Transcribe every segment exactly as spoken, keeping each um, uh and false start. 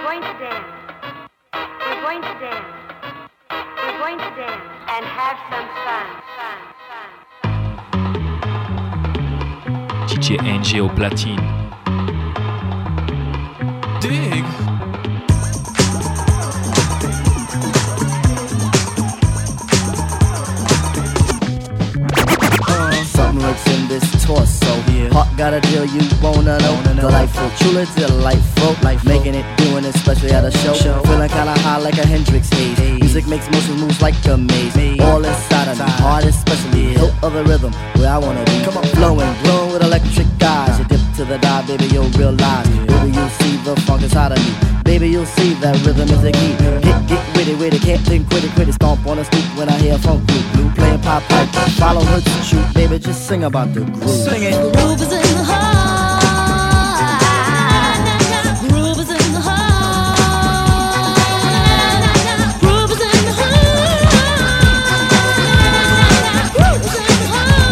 going to dance. We're going to dance. We're going to dance and have some fun. fun, fun. D J N G au platine. Dig. Something lurks in this torso. Yeah. Heart got a deal you wanna know. Wanna know. Delightful, truly delightful. Life making it, doing it, especially at a show. show. Feeling kinda high like a Hendrix haze. Hey. Music makes motion moves like a maze. Hey. All inside of me, heart especially. Yeah. Hilt of the rhythm, where I wanna be. Come on, flowing, glowing with electric eyes. You dip to the dive, baby, you'll realize. Yeah. Baby, you'll see the funk inside of me. Baby, you'll see that rhythm is the key. Get, get witty, witty, can't think, quit it, quit it. Stomp on the stoop when I hear funk blue. Blue playing pop pipe, follow her to shoot. Baby, just sing about the groove. Sing it. The groove is in the heart. Groove is in the heart. Groove is in the heart. Groove is in the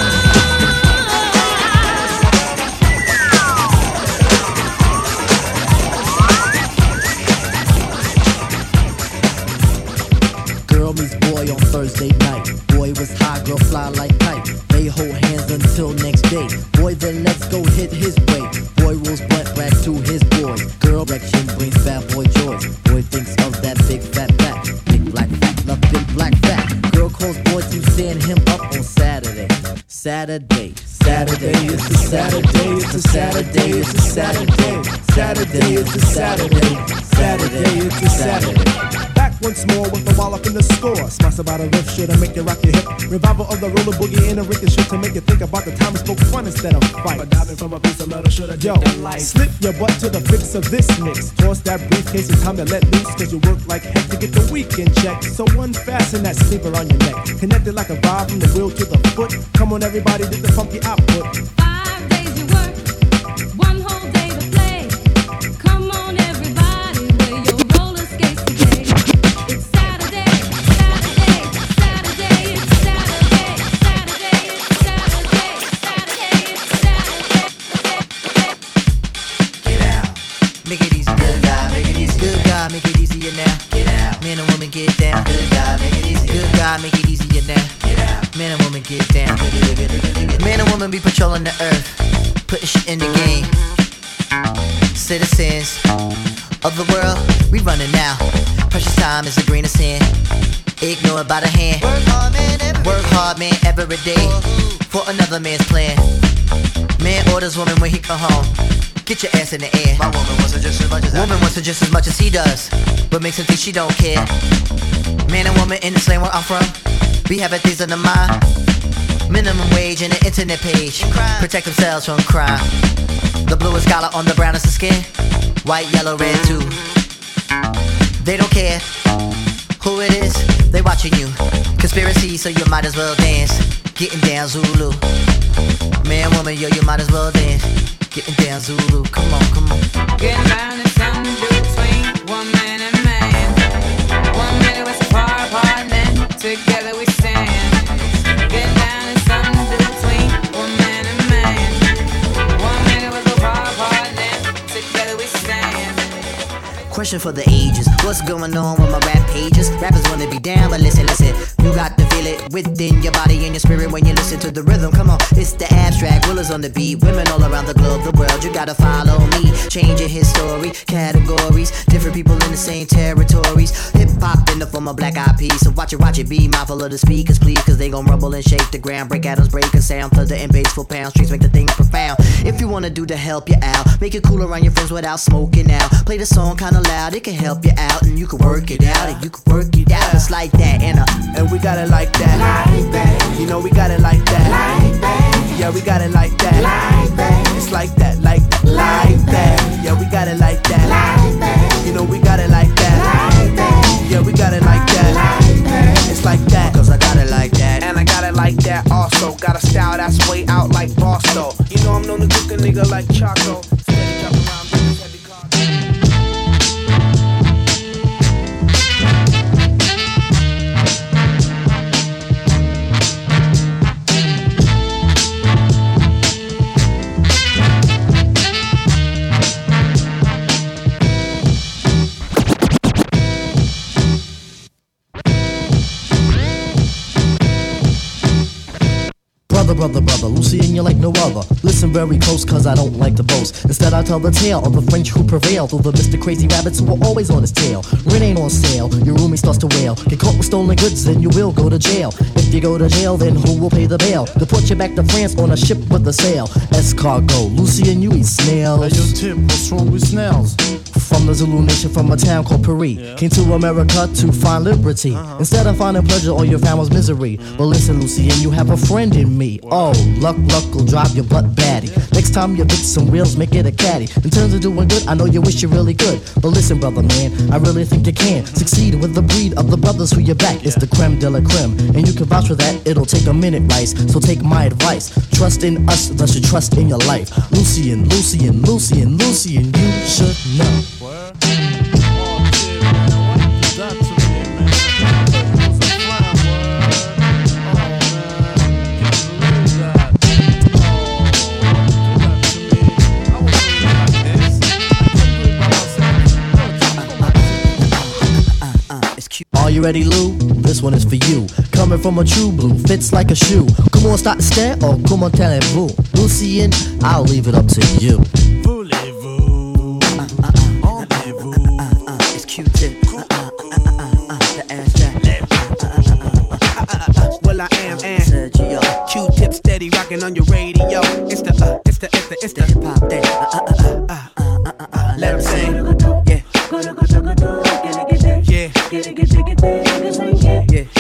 heart. Girl meets boy on Thursday night. Boy was high, girl fly like kite. They hold hands until next day. Boy, then let's go hit his way. Boy rolls blunt back to his boys. Girl direction brings bad boy joy. Boy thinks of that big fat back. Big black fat, love big black fat. Girl calls boy to send him up on Saturday. Saturday, Saturday, it's a Saturday, it's a Saturday, it's a Saturday. Saturday, it's a Saturday. Saturday, it's a Saturday. Once more with a wallop in the score. Smash about a riff shit to make you rock your hip. Revival of the roller boogie in a ricket shit to make you think about the time we spoke fun instead of fight. But diving from a piece of metal should have yo, slip your butt to the fix of this mix. Toss that briefcase, it's time to let loose. Cause you work like heck to get the weekend check. So unfasten that sleeper on your neck. Connected like a vibe from the wheel to the foot. Come on everybody, get the funky output. Five days you work, one whole day to play. Come on everybody, wear your roller skates today. It's Saturday, Saturday, Saturday, it's Saturday, Saturday, it's Saturday, Saturday, it's Saturday. Get out, make it easy, good guy, make it easy, good guy, make it easier now. Get out, man and woman get down, good guy, make it easy, good guy, make it easier now. Get out, man and woman get down. Man and woman be patrolling the earth, putting shit in the game. Citizens of the world, we running now. Precious time is a grain of sand. Ignore it by the hand. Work hard, man, every, Work hard, man, every day for another man's plan. Man orders woman when he come home. Get your ass in the air. My woman wants it just as much as Woman wants it just as much as he does, but makes him think she don't care. Man and woman in this land where I'm from, we having things on the mind. Minimum wage and an internet page. Protect themselves from crime. The bluest collar on the brownest of skin. White, yellow, red too. They don't care who it is, they watching you. Conspiracy, so you might as well dance. Getting down Zulu. Man, woman, yo, you might as well dance. Getting down Zulu, come on, come on. Getting down is something between one man and man. One minute we're so far apart, and then together we stand. Getting down is something between one man and man. One minute we're so far apart, and then together we stand. Question for the ages, what's going on with my rap pages? Rappers wanna be down, but listen, listen. You got to feel it within your body and your spirit when you listen to the rhythm. Come on, it's the abstract, willers on the beat. Women all around the globe, the world, you gotta follow me. Changing his story, categories. Different people in the same territories. Hip-hop in the form of black eyed peas. So watch it, watch it, be mindful of the speakers, please. Cause they gon' rumble and shake the ground. Break atoms, break a sound. Thunder and bass for pound. Streets make the thing profound. If you wanna do to help you out, make it cool around your friends without smoking out. Play the song kinda loud, it can help you out. And you can work it out, and you can work it out. It's like that, and uh And we got it like that, like that. You know we got it like that, like that. Yeah, we got it like that, like that. It's like that, like that, like that. Yeah, we got it like that, like that. You know we got it like that, like that. Yeah, we got it like that, like that. It's like that, cause I got it like that. and I got it like that also. Got a style that's way out like Boston. You know I'm known to cook a nigga like Chaco. Steady drop around with this heavy car. brother, brother, Lucy and you like no other. Listen very close, cause I don't like to boast. Instead I tell the tale of the French who prevailed over Mister Crazy Rabbits who were always on his tail. Rent ain't on sale, your roomie starts to wail. Get caught with stolen goods, then you will go to jail. If you go to jail, then who will pay the bail? Deport you back to France on a ship with a sail. Escargot, Lucy and you eat snails. Hey, yo, Tip, what's wrong with snails? From the Zulu nation, from a town called Paris. Yeah. Came to America to find liberty. Uh-huh. Instead of finding pleasure, all you found was misery. Mm-hmm. But listen, Lucy, and you have a friend in me. Wow. Oh, luck, luck will drive your butt batty. Yeah. Next time you fix some wheels, make it a caddy. In terms of doing good, I know you wish you really could. But listen, brother, man, I really think you can succeed with the breed of the brothers who you back. Yeah. It's the creme de la creme, and you can vouch for that. It'll take a minute, Rice. So take my advice. Trust in us, thus you trust in your life. Lucian, Lucian, Lucian, Lucian, you should know. Word? Oh, shit, man. What you done to me, man? It was a fine word. Oh, man. Can't believe that. Oh, what you done to me? I wasn't really like this. I couldn't do it by myself. No, Uh, uh, uh, it's cute. Are you ready, Lou? This one is for you. Coming from a true blue, fits like a shoe. Come on, start to stare, or come on, tell it boo. Lucian, I'll leave it up to you. Voulez-vous? Uh, uh, uh, Rendez-vous? uh, uh, uh, it's Q-Tip. Uh, uh, uh, uh, uh, uh, the ass jack. Well, I am and Sergio. Q-Tip steady rocking on your radio. It's the uh, it's the it's the it's The the hip hop thing. Uh, uh, uh, uh, uh, uh, uh, uh, let 'em sing. Yeah. Yeah. Yeah.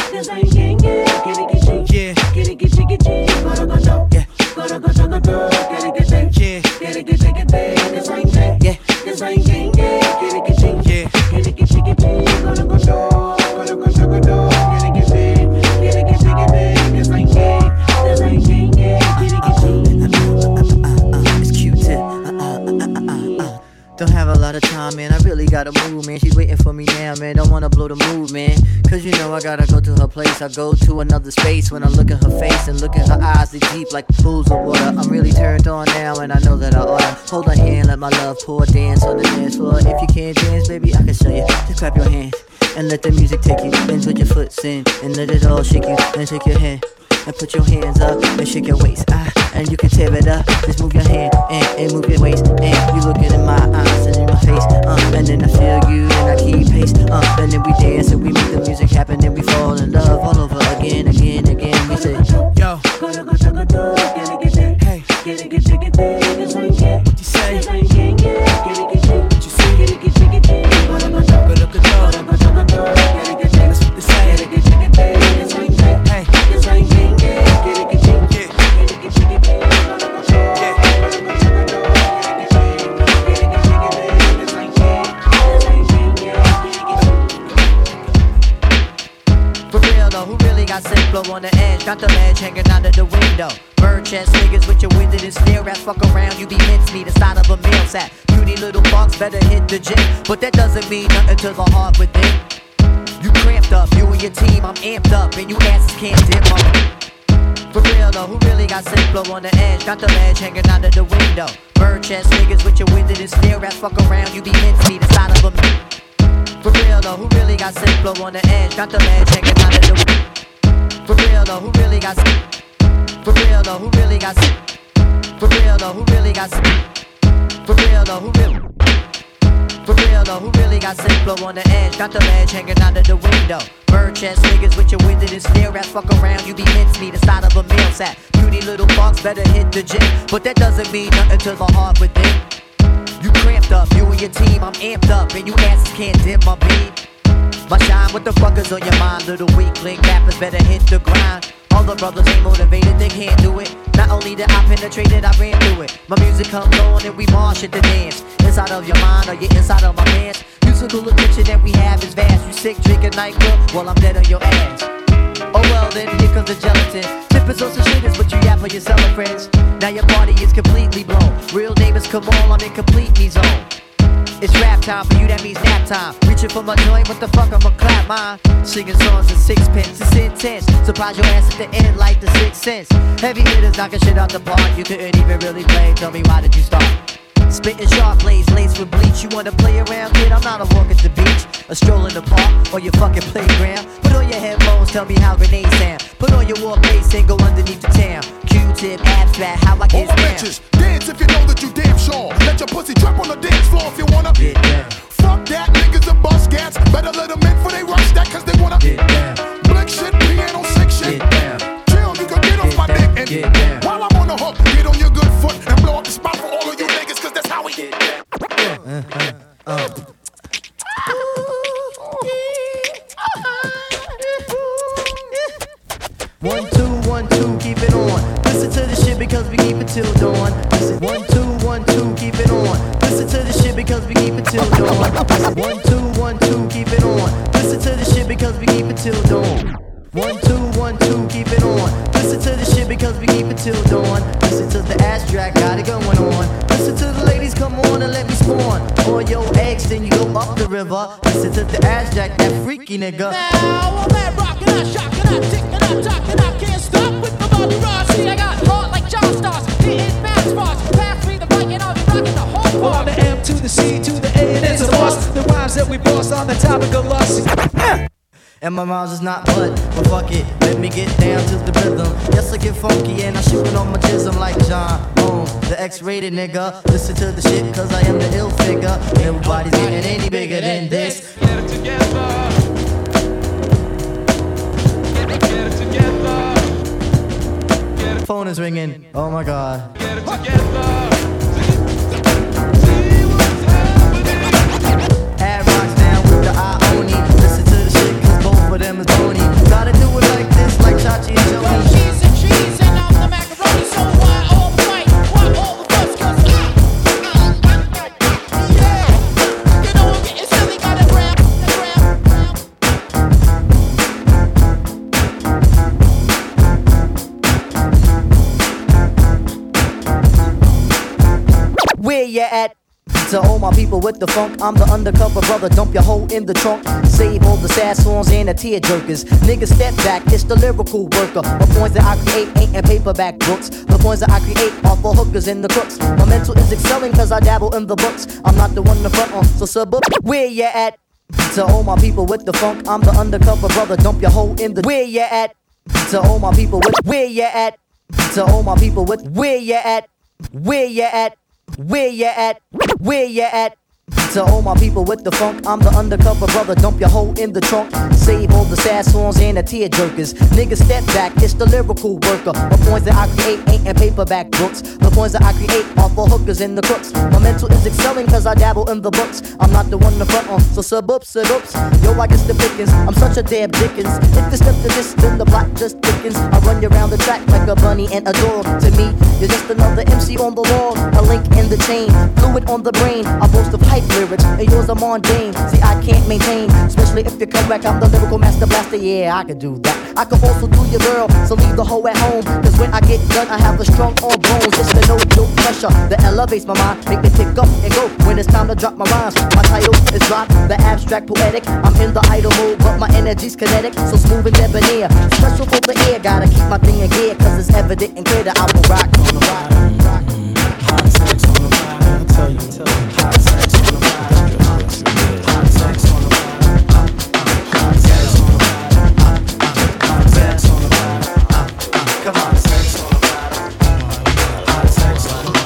It's Q-Tip. Uh, uh, uh, uh, uh, uh. Don't have a lot of time, man. I really gotta move, man. She's waiting for me now, man. Don't wanna blow the mood, man. Cause you know I gotta go to her place. I go to another space when I look at her face and look at her eyes. They deep like pools of water. I'm really turned on now, and I know that I oughta hold her hand, let my love pour, dance on the dance floor. If you can't dance, baby, I can show you. Just clap your hands and let the music take you. Then put your foot in and let it all shake you. Then shake your hand and put your hands up and shake your waist. Ah, and you can tear it up. Just move your hand and, and move your waist. And you looking in my eyes and in my face. Uh, and then I feel you and I keep pace. Uh, and then we dance and we make the music happen. And we fall in love all over again, again, again. We say, Yo. Hey. What you say? What you see? That's what they say. Hey. for real though, who really got sick blow on the edge? Got the ledge hanging out of the window. Bird chest niggas with your winded and stare rats. Fuck around, you be mincemeat inside of a meal sack. Beauty little fucks better hit the gym. But that doesn't mean nothing to the heart within. You cramped up, you and your team, I'm amped up. And you asses can't dip up. For real though, who really got sick blow on the edge? Got the ledge hanging out of the window. Bird chest niggas with your winded and stare rats. Fuck around, you be mincemeat inside of a. For real though, who really got sick blow on the edge? Got the ledge hanging out of the. For real though, who really got sick? For real though, who really got sick? For real though, who really got sick? For real though, who really? For real though, who really got sick blow on the edge? Got the ledge hanging out of the window. Bird chest niggas with your winded and stare rats. Fuck around, you be mincemeat inside of a meal sack. Beauty little fucks better hit the gym. But that doesn't mean nothing to the heart within. You cramped up, you and your team, I'm amped up. And you asses can't dim my beat. My shine, what the fuck is on your mind? Little weakling rappers better hit the grind. All the brothers ain't motivated, they can't do it. Not only did I penetrate it, I ran through it. My music comes on and we march at the dance. Inside of your mind or you inside of my pants. Musical addiction that we have is vast. You sick, drinking NyQuil, well I'm dead on your ass. Oh well then, here comes the gelatin. Tippers on some shitters, but you yap for your cellar friends. Now your party is completely blown. Real neighbors come on, I'm in complete me zone. It's rap time, for you that means nap time. Reaching for my joint, what the fuck, I'ma clap mine. Singing songs in sixpence, it's intense. Surprise your ass at the end like the Sixth Sense. Heavy hitters knocking shit out the park, you couldn't even really play. Tell me why did you start? Spitting sharp blades, laced with bleach. You wanna play around, kid? I'm not a walk at the beach, a stroll in the park, or your fucking playground. Put on your headphones, tell me how grenades sound. Put on your war bass and go underneath the town. Q-tip, abstract, how I All get my down. bitches, dance if you know that you damn sure. Let your pussy drop on the dance floor if you wanna. Get down. Fuck that, niggas and bus cats. Better let them in for they rush that, cause they wanna. Get down. Blick shit, piano, sick shit. Get down. Chill, you can get off my down, dick and get down. while I'm on the hook, get on your good foot and blow up the spot for all of you niggas, cause that's how we get down. One, two, one, two, keep it on. Listen to the shit because we keep it till dawn. Listen, one, two, one, two, keep it on. Listen to the shit because we keep it till dawn. Listen, one, two, one, two, keep it on. Listen to the shit because we keep it till dawn. One, two, one, two, keep it on. Listen to the shit because we keep it till dawn. Listen to the abstract, got it going on. Listen to the ladies, come on and let me spawn. On your eggs, then you go up the river. Listen to the abstract, that freaky nigga. Now I'm that rockin', I shockin', I tickin', I talkin', I can't stop with my body rock. See, I got heart like John Stars, hitting fast bars. Pass me the mic and I'll be rockin' the whole Well, bar. I'm the M to the C to the A and it's a boss. The rhymes that we boss on the topic of lust. And my rhymes is not mud, but fuck it, let me get down to the rhythm. Yes, I get funky and I shoot it on my jism like John Holmes, the X-rated nigga. Listen to the shit cause I am the ill figure. Nobody's getting any bigger than this. Get it together. Get it, get it together. Get it, Phone is ringing, oh my god. get it together. See what's happening. Add rocks down with the Ioni. Listen to the shit cause both of them is bony. Gotta do it like this, like Chachi and Yo, Joey. cheese and cheese and I'm the macaroni. So why all the fight? Why all the fuss? Cause I, yeah, you know I'm getting silly, got it round, round. Where you at? To all my people with the funk, I'm the undercover brother. Dump your hoe in the trunk. Save all the sad songs and the tear jerkers. Niggas step back, it's the lyrical worker. The points that I create ain't in paperback books. The points that I create are for hookers and the crooks. My mental is excelling cause I dabble in the books. I'm not the one to front on, so sub up. Where you at? To all my people with the funk, I'm the undercover brother. Dump your hoe in the. Where you at? To all my people with. Where you at? To all my people with. Where you at? Where you at? Where you at? Where you at? To all my people with the funk, I'm the undercover brother. Dump your hoe in the trunk. Save all the sad songs and the tear jerkers. Niggas step back, it's the lyrical worker. The points that I create ain't in paperback books. The points that I create are for hookers and the crooks. My mental is excelling cause I dabble in the books. I'm not the one to front on, so sub up, sub ups. Yo, I guess the pickings, I'm such a damn Dickens. If you step to this, then the block just thickens. I run you around the track like a bunny and a dog. To me, you're just another M C on the wall. A link in the chain, fluid on the brain. I boast of hype lyrics, and yours are mundane. See, I can't maintain, especially if you come back. I'm the lyrical master blaster, yeah, I can do that. I can also do your girl, so leave the hoe at home. Cause when I get done, I have a strong arm bones. It's the no, no pressure that elevates my mind. Make me pick up and go when it's time to drop my rhymes. My title is Drop, the abstract poetic. I'm in the idle mode, but my energy's kinetic. So smooth and debonair, special for the air. Gotta keep my thing in gear, cause it's evident and clear that I will rock on the rock. rock. Hot sex on the ride, I'll tell you, tell you. Hot sex on the ride, hot sex on the ride, hot sex on the ride, hot sex on the ride, come on, sex on the ride, hot sex on the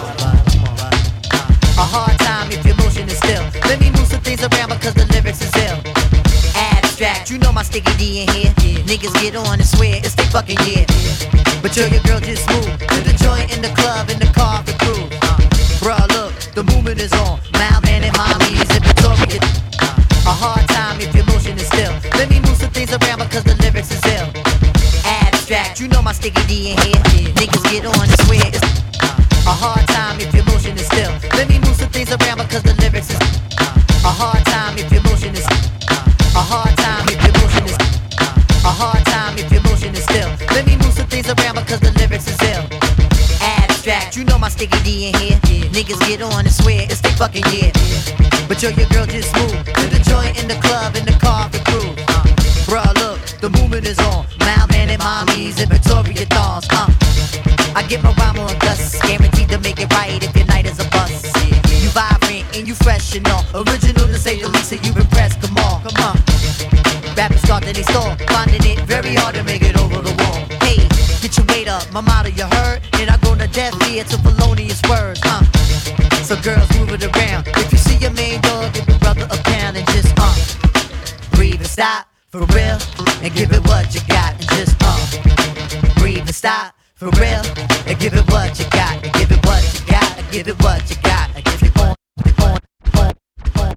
ride. A hard time if your motion is still. Let me move some things around because the lyrics is ill. Abstract, you know my sticky D in here. Niggas get on and swear it's their fucking year. But yo, your girl just moved to the joint in the club, in the car, the crew. Bruh, look, the movement is on. Malman and mommies in Victoria. A hard time if your motion is still. Let me move some things around because the lyrics is ill. Abstract, you know my sticky D in here. Niggas get on and swear it's a hard time if your motion is still. Let me move some things around because the lyrics is a hard time if your motion is a hard time if your motion is a hard time if your motion is still. Let me move some things around because the lyrics is ill. Abstract, you know my sticky D in here. Niggas get on and swear it's their fucking year. But yo, your girl just moved to the joint in the club, in the car, the crew. Bruh, look, the movement is on. Malman and mommies in Victoria thongs. Uh, I get my rhyme on dust, guaranteed to make it right if your night is a bust. expressional, original to say the least that you've impressed. Come on, come on. Rappers start then they stall, finding it very hard to make it over the wall. Hey, get your weight up, my motto you heard, and I grown a deaf ear to felonious words. Uh, so girls move it around. If you see your main dog, give your brother a pound and just uh, breathe and stop for real, and give it what you got and just uh, breathe and stop for real, and give it what you got, and give it what you got, and give it what you got, and give it on, on, on, on.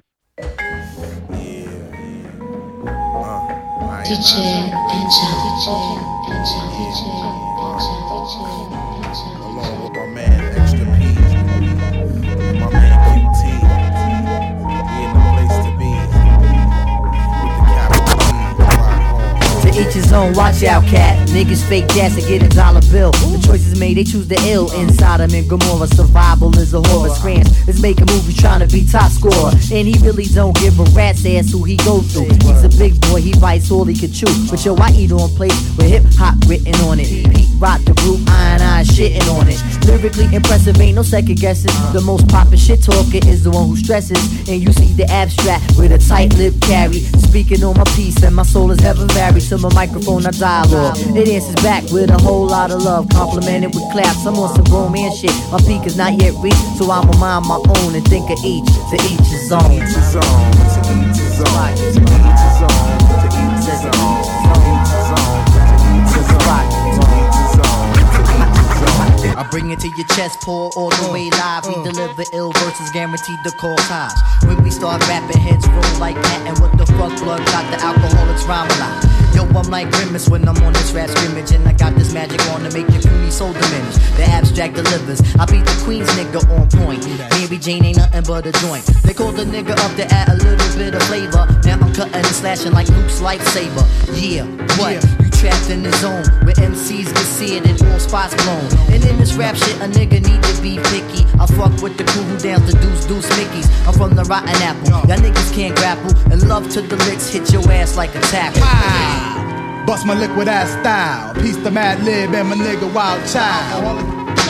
D J Encha, D J Encha, D J Encha, D J Encha. Along with my man Extra P, and my man Q T, we in the place to be. With the capital P, rock hard. To each his own, watch out, cat. Niggas fake gas to get a dollar bill. The choices made, they choose the ill. Inside him in Gomorrah, survival is a horror. Scrams is making movies trying to be top scorer. And he really don't give a rat's ass who he go through. He's a big boy, he bites all he can chew. But yo, I eat on plates with hip hop written on it. Pete rock the group, iron iron shitting on it. Lyrically impressive, ain't no second guessing. The most poppin' shit talker is the one who stresses. And you see the abstract with a tight lip carry. Speaking on my piece and my soul is heaven varied. To my microphone I dialogue. It answers back with a whole lot of love, complimented with claps. I'm on some romance shit. My peak is not yet reached, so I'ma mind my own and think of each. To each his own. To each his own. To each his own. To each his own. To each his own. To each his own. To each his own. To each his own. I bring it to your chest, pour all the way live. We deliver ill verses, guaranteed to call ties. When we start rapping, heads roll like that. And what the fuck, blood got the alcoholics rhyme a lot. Yo, I'm like Grimace when I'm on this rap scrimmage. And I got this magic on to make your puny soul diminish. The abstract delivers. I beat the Queen's nigga on point. Mary Jane ain't nothing but a joint. They call the nigga up to add a little bit of flavor. Now I'm cutting and slashing like Luke's lightsaber. Yeah, what? You trapped in the zone where M Cs get seared and all spots blown. And in this rap shit, a nigga need to be picky. I fuck with the crew who downs the deuce deuce Mickeys. I'm from the rotten apple. Y'all niggas can't grapple. And love to the licks, hit your ass like a tackle. Bust my liquid ass style. Peace to Mad Lib and my nigga Wild Child.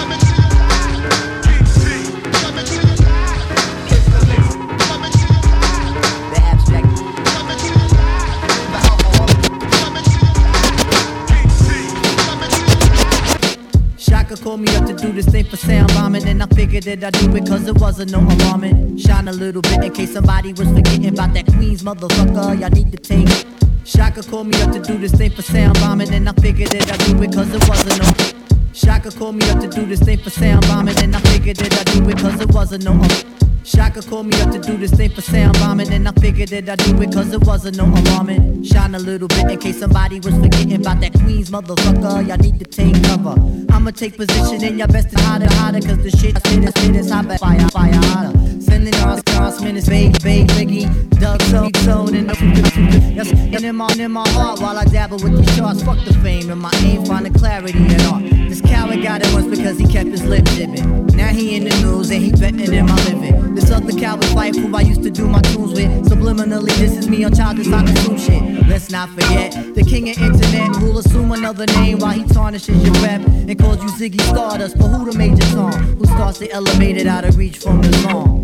Shaka called me up to do this thing for sound bombing, and I figured that I'd do it cause it wasn't no alarming. Shine a little bit in case somebody was forgetting about that Queens motherfucker. Y'all need to take it. Shaka called me up to do this thing for sound bombing, and I figured that I'd do it cause it wasn't no. Shaka called me up to do this thing for sound bombing, and I figured that I'd do it cause it wasn't no. Shaka called me up to do this thing for sound bombing, and I figured that I'd do it cause it wasn't no alarming. Shine a little bit in case somebody was forgetting about that Queens motherfucker. Y'all need to take cover. I'ma take position and y'all best to hotter, hotter, cause the shit I spit is spit is hot, fire, fire, hotter. Sending our stars, minutes, vague, vague, Biggie, Doug, so, so, and yes, and in my, in my heart while I dabble with these charts. Fuck the fame and my aim, finding clarity in art. This coward got it once because he kept his lip dipping. Now he in the news and he betting in my living. This other coward wife who I used to do my tunes with. Subliminally, this is me on childish I consume shit. Let's not forget, the king of internet who'll assume another name while he tarnishes your rep and calls you Ziggy Stardust. But who the major song? Who starts to elevate it out of reach from the song?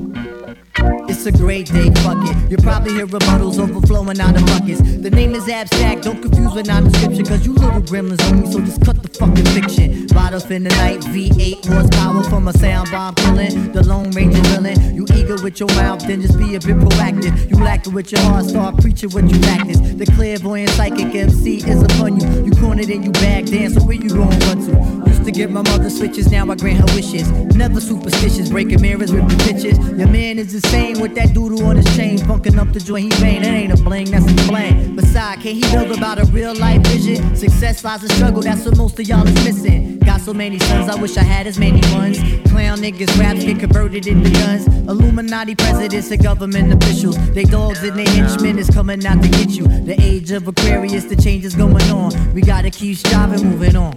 It's a great day, fuck it. You'll probably hear rebuttals overflowing out of buckets. The name is abstract, don't confuse with non-description, cause you little gremlins on me, so just cut the fucking fiction. Ride off in the night, V eight horsepower from a sound bomb killing. The Lone Ranger villain. You eager with your mouth, then just be a bit proactive. You lacking with your heart, start preaching what you practice. The clairvoyant psychic M C is upon you. You cornered and you bagged in, so where you gon' run to? Used to get my mother switches, now I grant her wishes. Never superstitious, breaking mirrors with the pictures. Your man is insane with that doodle on his chain, funking up the joint he vain. It ain't a bling, that's a bling. Besides, can't he build about a real life vision? Success lies in struggle, that's what most of y'all is missing. Got so many sons, I wish I had as many ones. Clown niggas, raps get converted into guns. Illuminati presidents and government officials. They dogs and they henchmen is coming out to get you. The age of Aquarius, the change is going on. We gotta keep striving, moving on.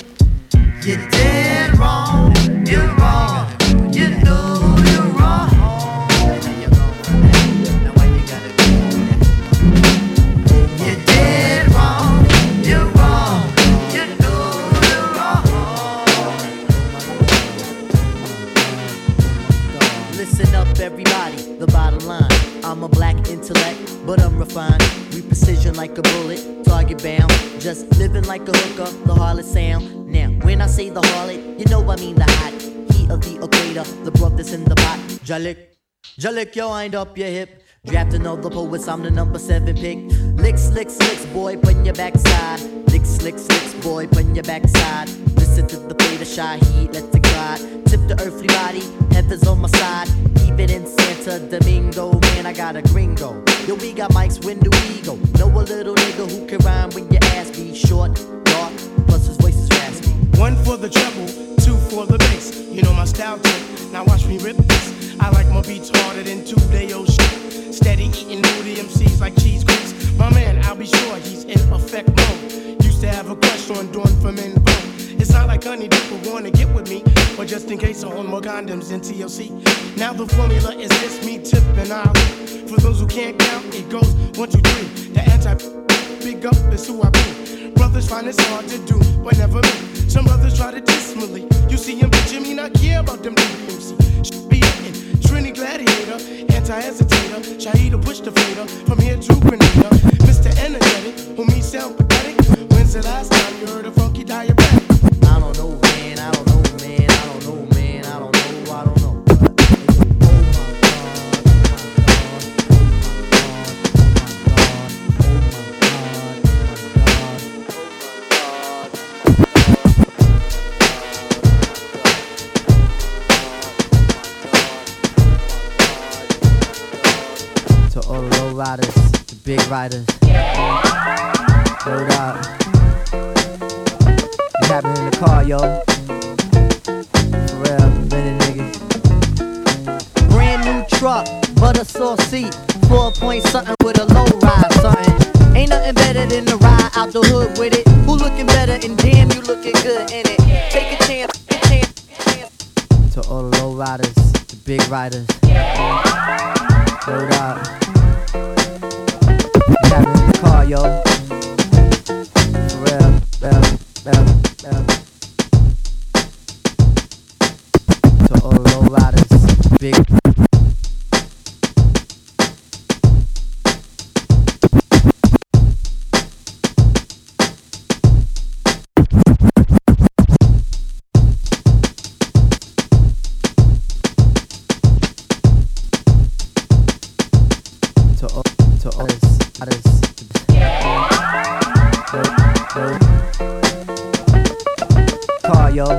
You're dead wrong, you're wrong. You know you're wrong. You're dead wrong, you're wrong. You know you're wrong. Listen up, everybody. The I'm a black intellect, but I'm refined. We precision like a bullet, target bound. Just living like a hooker, the harlot sound. Now, when I say the harlot, you know I mean the hot heat of the equator, the broth that's in the pot. Jalik, Jalik, yo, wind up your hip. Drafting all the poets, I'm the number seven pick. Licks, licks, licks, boy, put your backside. Licks, licks, licks, boy, put your backside. Listen to the play, the shy heat, let it glide. Tip the earthly body, heaven's on my side. Even in Santa Domingo, man, I got a gringo. Yo, we got mics, when do we go? Know a little nigga who can rhyme when your ass be short, dark, plus his voice is raspy. One for the treble, two for the bass. You know my style tip, now watch me rip this. I like my beats harder than two-day-old shit. Steady eating moody M Cs like cheese grease. My man, I'll be sure he's in effect mode. Used to have a crush on Dawn from In Vogue. It's not like honey people wanna get with me, or just in case I own more condoms than T L C. Now the formula is this, me, Tip, and Ali. For those who can't count, it goes one, two, three. The anti big up is who I be. Brothers find it's hard to do, but never me. Some brothers try to diss me. You see him, but Jimmy not care about them D B M C. Should be hitting. Trini Gladiator, anti-hesitator, Shahida push the fader, from here to Grenada. Mister Energetic, who me sound pathetic. When's the last time you heard a funky diabetic? I don't know, man, I don't know, man, I don't know, man, I don't know, I don't know. All the low riders, the big riders. Hold up. What happened in the car, yo? For real, minute niggas. Brand new truck, butter sauce seat, four point something with a low ride, something. Ain't nothing better than the ride out the hood with it. Who looking better? And damn, you looking good in it. Take a chance, take a chance, chance. To all the low riders, the big riders. Hold up. What happened in the car, yo? For real, real, real, real. To all the low riders, big. Car, yo.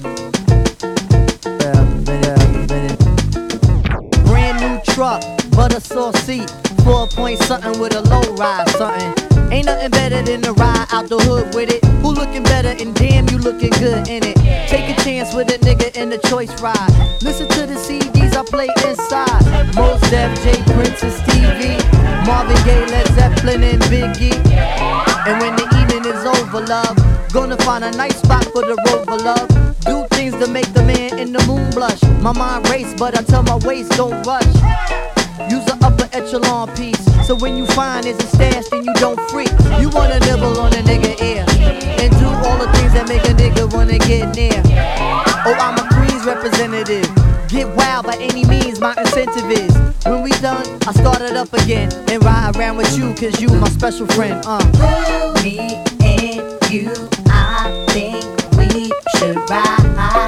Brand new truck, butter sauce seat, four point something with a low ride, something. Ain't nothing better than the ride out the hood with it. Who looking better? And damn, you looking good in it. Take a chance with a nigga in the choice ride. Listen to the C Ds I play inside. Mos Def, J Prince, and Stevie, Marvin Gaye, Led Zeppelin, and Biggie. And when the evening is over, love, gonna find a nice spot for the rover, love. Do things to make the man in the moon blush. My mind race, but I tell my waist don't rush. Use an upper echelon piece, so when you find it's a stash, then you don't freak. You wanna nibble on a nigga ear, and do all the things that make a nigga wanna get near. Oh, I'm a Queens representative. Get wild by any means, my incentive is. When we done, I start it up again and ride around with you, cause you my special friend. Uh. Me and you, I think we should ride.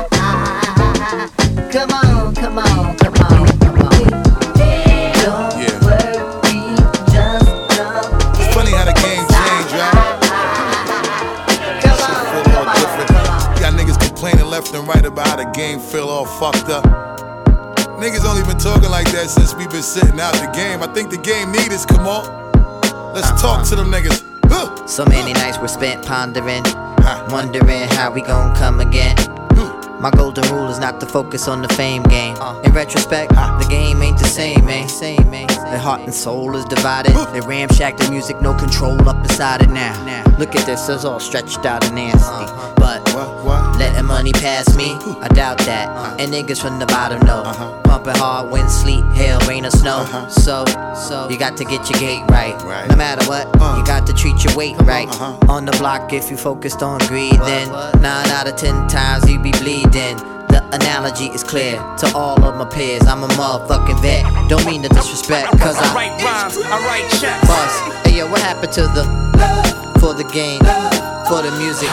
Come on, come on, come on, come on. Don't Yeah. worry, just come. It's funny how the game changed, right? Come Shit on, feel come more on, different. come on. Got niggas complaining left and right about how the game feel all fucked up. Niggas only been talking like that since we been sitting out the game. I think the game need us, come on. Let's talk to them niggas. Huh. So many nights were spent pondering, Huh. wondering how we gon' come again. My golden rule is not to focus on the fame game. In retrospect, the game ain't the same, man. Same, man. Their heart and soul is divided. They ramshack the music, no control up inside it now. Look at this, it's all stretched out and nasty. But What, what? letting money pass me, I doubt that. And niggas from the bottom know. Pumping hard, wind, sleet, hail, rain, or snow. So, so you got to get your gait right. Right. No matter what, you got to treat your weight right. Uh-huh. On the block, if you focused on greed, then nine out of ten times you be bleeding. The analogy is clear to all of my peers. I'm a motherfucking vet. Don't mean to disrespect, cause I, I write rhymes, I write checks. Bust. Hey yo, what happened to the for the game, for the music?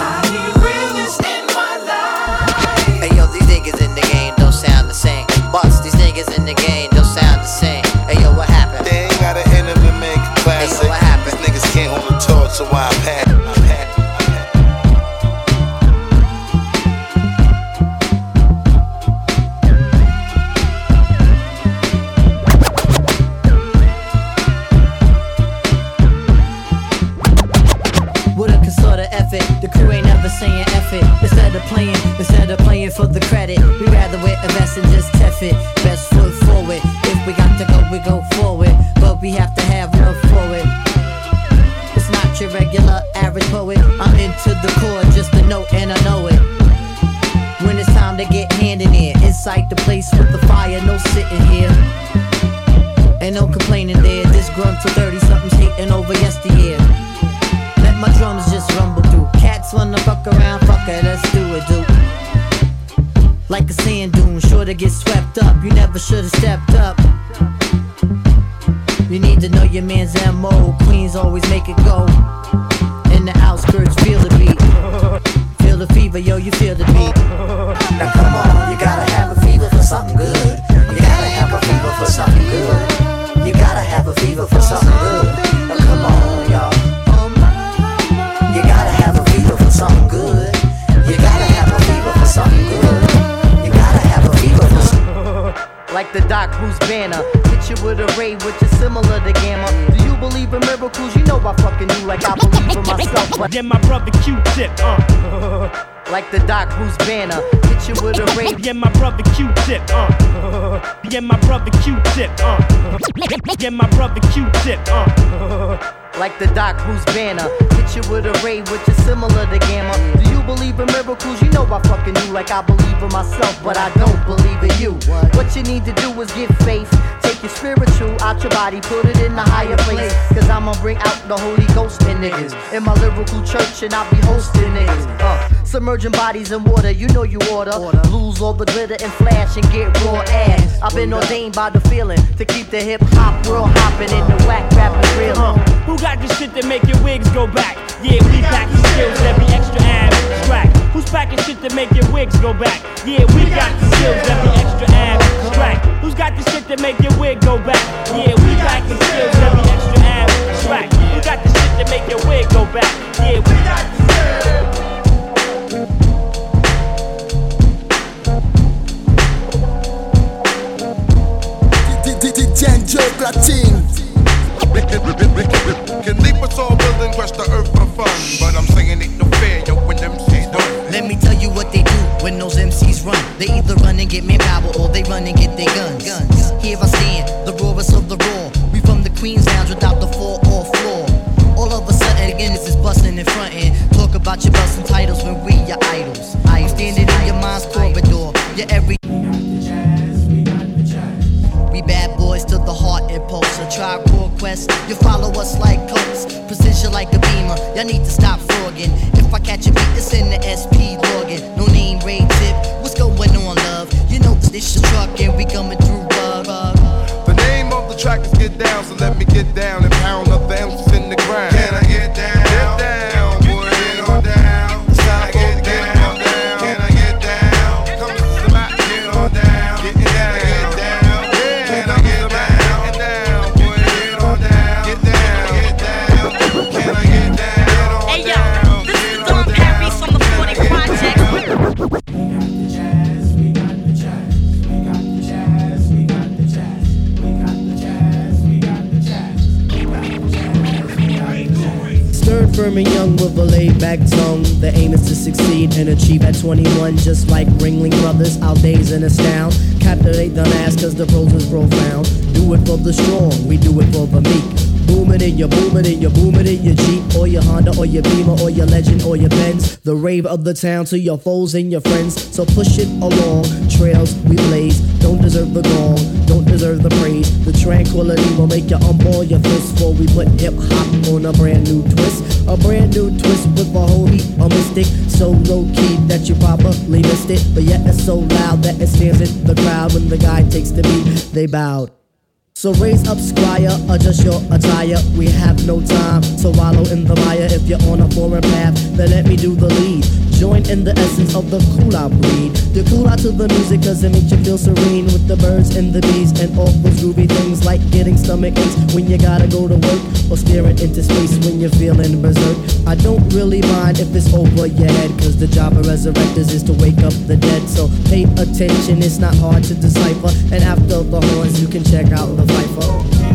Hey yo, these niggas in the game don't sound the same. Bust, these niggas in the game don't sound the same. Hey yo, what happened? They ain't got an enemy make a classic. Hey yo, what happened? These niggas can't hold a torch, so why I'm had. The crew ain't never saying F it. Instead of playing, instead of playing for the credit, we rather wear a vest and just F it. Best foot forward. If we got to go, we go forward. But we have to have love for it. It's not your regular average poet. I'm into the core, just a note and I know it. When it's time to get handed in, inside the place with the fire, no sitting here. Ain't no complaining there. This grunt to thirty something's hating over yesteryear. Let my drums just rumble through. Cats wanna fuck around, fuck it, let's do it, dude. Like a sand dune, sure to get swept up. You never should've stepped up. You need to know your man's M O. Queens always make it go. In the outskirts, feel the beat. Feel the fever, yo, you feel the beat. Now come on, you gotta have a fever for something good. You gotta have a fever for something good. You gotta have a fever for something good. Now come on, y'all. You gotta have a fever for something good. You gotta have a fever for something good. You gotta have a fever for something. Like the Doc Bruce banner, hit you with a ray which is similar to Gamma. Do you believe in miracles? You know I fucking do like I believe in myself. But yeah, my brother Q-Tip, uh. Like the Doc Bruce banner, hit you with a ray. Yeah, my brother Q-Tip, uh. Yeah, my brother Q-Tip, uh. Yeah, my brother Q-Tip, uh. Like the Doc Bruce banner, hit you with a ray which is similar to Gamma. Do you believe in miracles? You know I fucking do like I believe in myself, but I don't believe in you. What you need to do is get faith. Take your spiritual out your body, put it in a higher place. Cause I'ma bring out the Holy Ghost in niggas. In my lyrical church and I'll be hosting niggas. Uh, submerging bodies in water, you know you order. Lose all the glitter and flash and get raw ass. I've been ordained by the feeling to keep the hip hop world hopping and the whack rapping real. Uh, who got the shit that make your wigs go back? Yeah, we pack the skills that be extra abstract. Who's packing shit that make your wigs go back? Yeah, we got the skills that be extra abstract. Who's got the shit that make your wig go back? Yeah, we got the skills that be extra abstract. Who got the shit that make your wig go back? Yeah, we got the Django Platine. Can leap us all building, crush the earth for fun. But I'm saying it no fair, yo, when them C's don't. Let me tell you what they do when those M Cs run. They either run and get manpower or they run and get their guns. guns. Here I stand, the rawest of the raw. We from the Queens Lounge without the four or floor. All of a sudden, again, this is busting and fronting. Talk about your busting titles when we your idols. I am standing in your mind's corridor. Your every. We bad boys to the heart impulse. A tribe called Quest. You follow us like coats. Precision like a beamer. Y'all need to stop frogging. If I catch a beat, it's in the S P login. No name, raid tip. What's going on, love? You know this is truck and we coming through rug. The name of the track is Get Down, so let me get down and pound up the ounces in the ground. Can I get down? Get down, boy, get on down. It's time to get down. Can I get down? Come to the mat, get on down. Get down, get down. Can I get down? Get down, boy, get on down. Get down, get down. Can I get down? Hey yo, this is Don Perry from the forty Project. Stern, firm, and young with a laid-back tongue. The aim is to succeed and achieve at twenty-one. Just like Ringling Brothers, our days in astound. Captivate the mass cause the prose is profound. Do it for the strong, we do it for the meek. Booming in your booming in your booming in your Jeep or your Honda or your Beamer or your Legend or your Benz. The rave of the town to your foes and your friends. So push it along, trails we blaze, don't deserve the gong. don't deserve the praise. The tranquility will make you unball your fist before we put hip hop on a brand new twist. A brand new twist with a whole heap of mystic. So low key that you probably missed it, but yet it's so loud that it stands in the crowd. When the guy takes the beat, they bowed. So raise up, squire, adjust your attire. We have no time to wallow in the mire. If you're on a foreign path, then let me do the lead. Join in the essence of the cool out breed. The cool out to the music cause it makes you feel serene. With the birds and the bees and all those groovy things, like getting stomach aches when you gotta go to work, or staring into space when you're feeling berserk. I don't really mind if it's over your head, cause the job of resurrectors is to wake up the dead. So pay attention, it's not hard to decipher. And after the horns you can check out the Viper.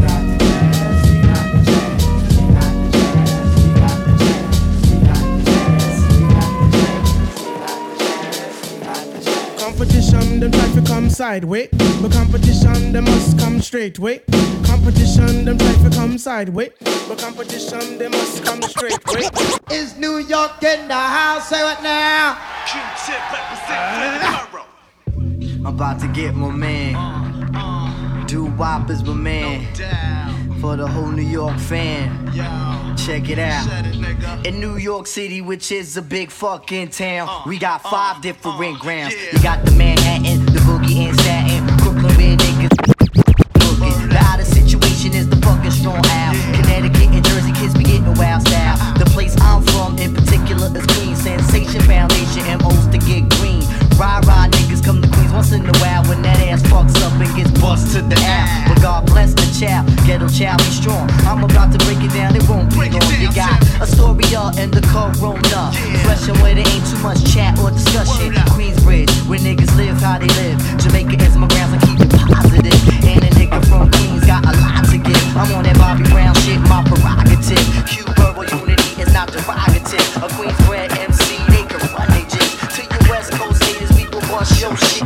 Competition, them try to come sideways, but competition, they must come straight way. Competition, them try to come sideways, but competition, they must come straight way. Is New York in the house? Say what now? Q-tip represent tomorrow. I'm about to get my man. Doo-wop is my man. For the whole New York fan. Check it out. In New York City, which is a big fucking town, we got five different grounds. You got the Manhattan, the Boogie and Staten, Brooklyn where niggas looking. The outer situation is the fucking strong out. Connecticut and Jersey kids be getting wild style. The place I'm from in particular is Queens. Sensation Foundation, M Os to get green. Rah-rah niggas come to Queens once in a while when that ass fucks up and gets bust to the ass. But God bless the child, ghetto child be strong. I'm about to break it down, it won't be long. You got Astoria and the Corona, fresh and where there ain't too much chat or discussion. Queensbridge, where niggas live how they live. Jamaica is my grounds, I keep it positive. And a nigga from Queens got a lot to give. I'm on that Bobby Brown shit, my prerogative. Q-Borough unity is not derogative. A Queensbred M C, they can run they jig. To your West Coast haters, we will bust your shit.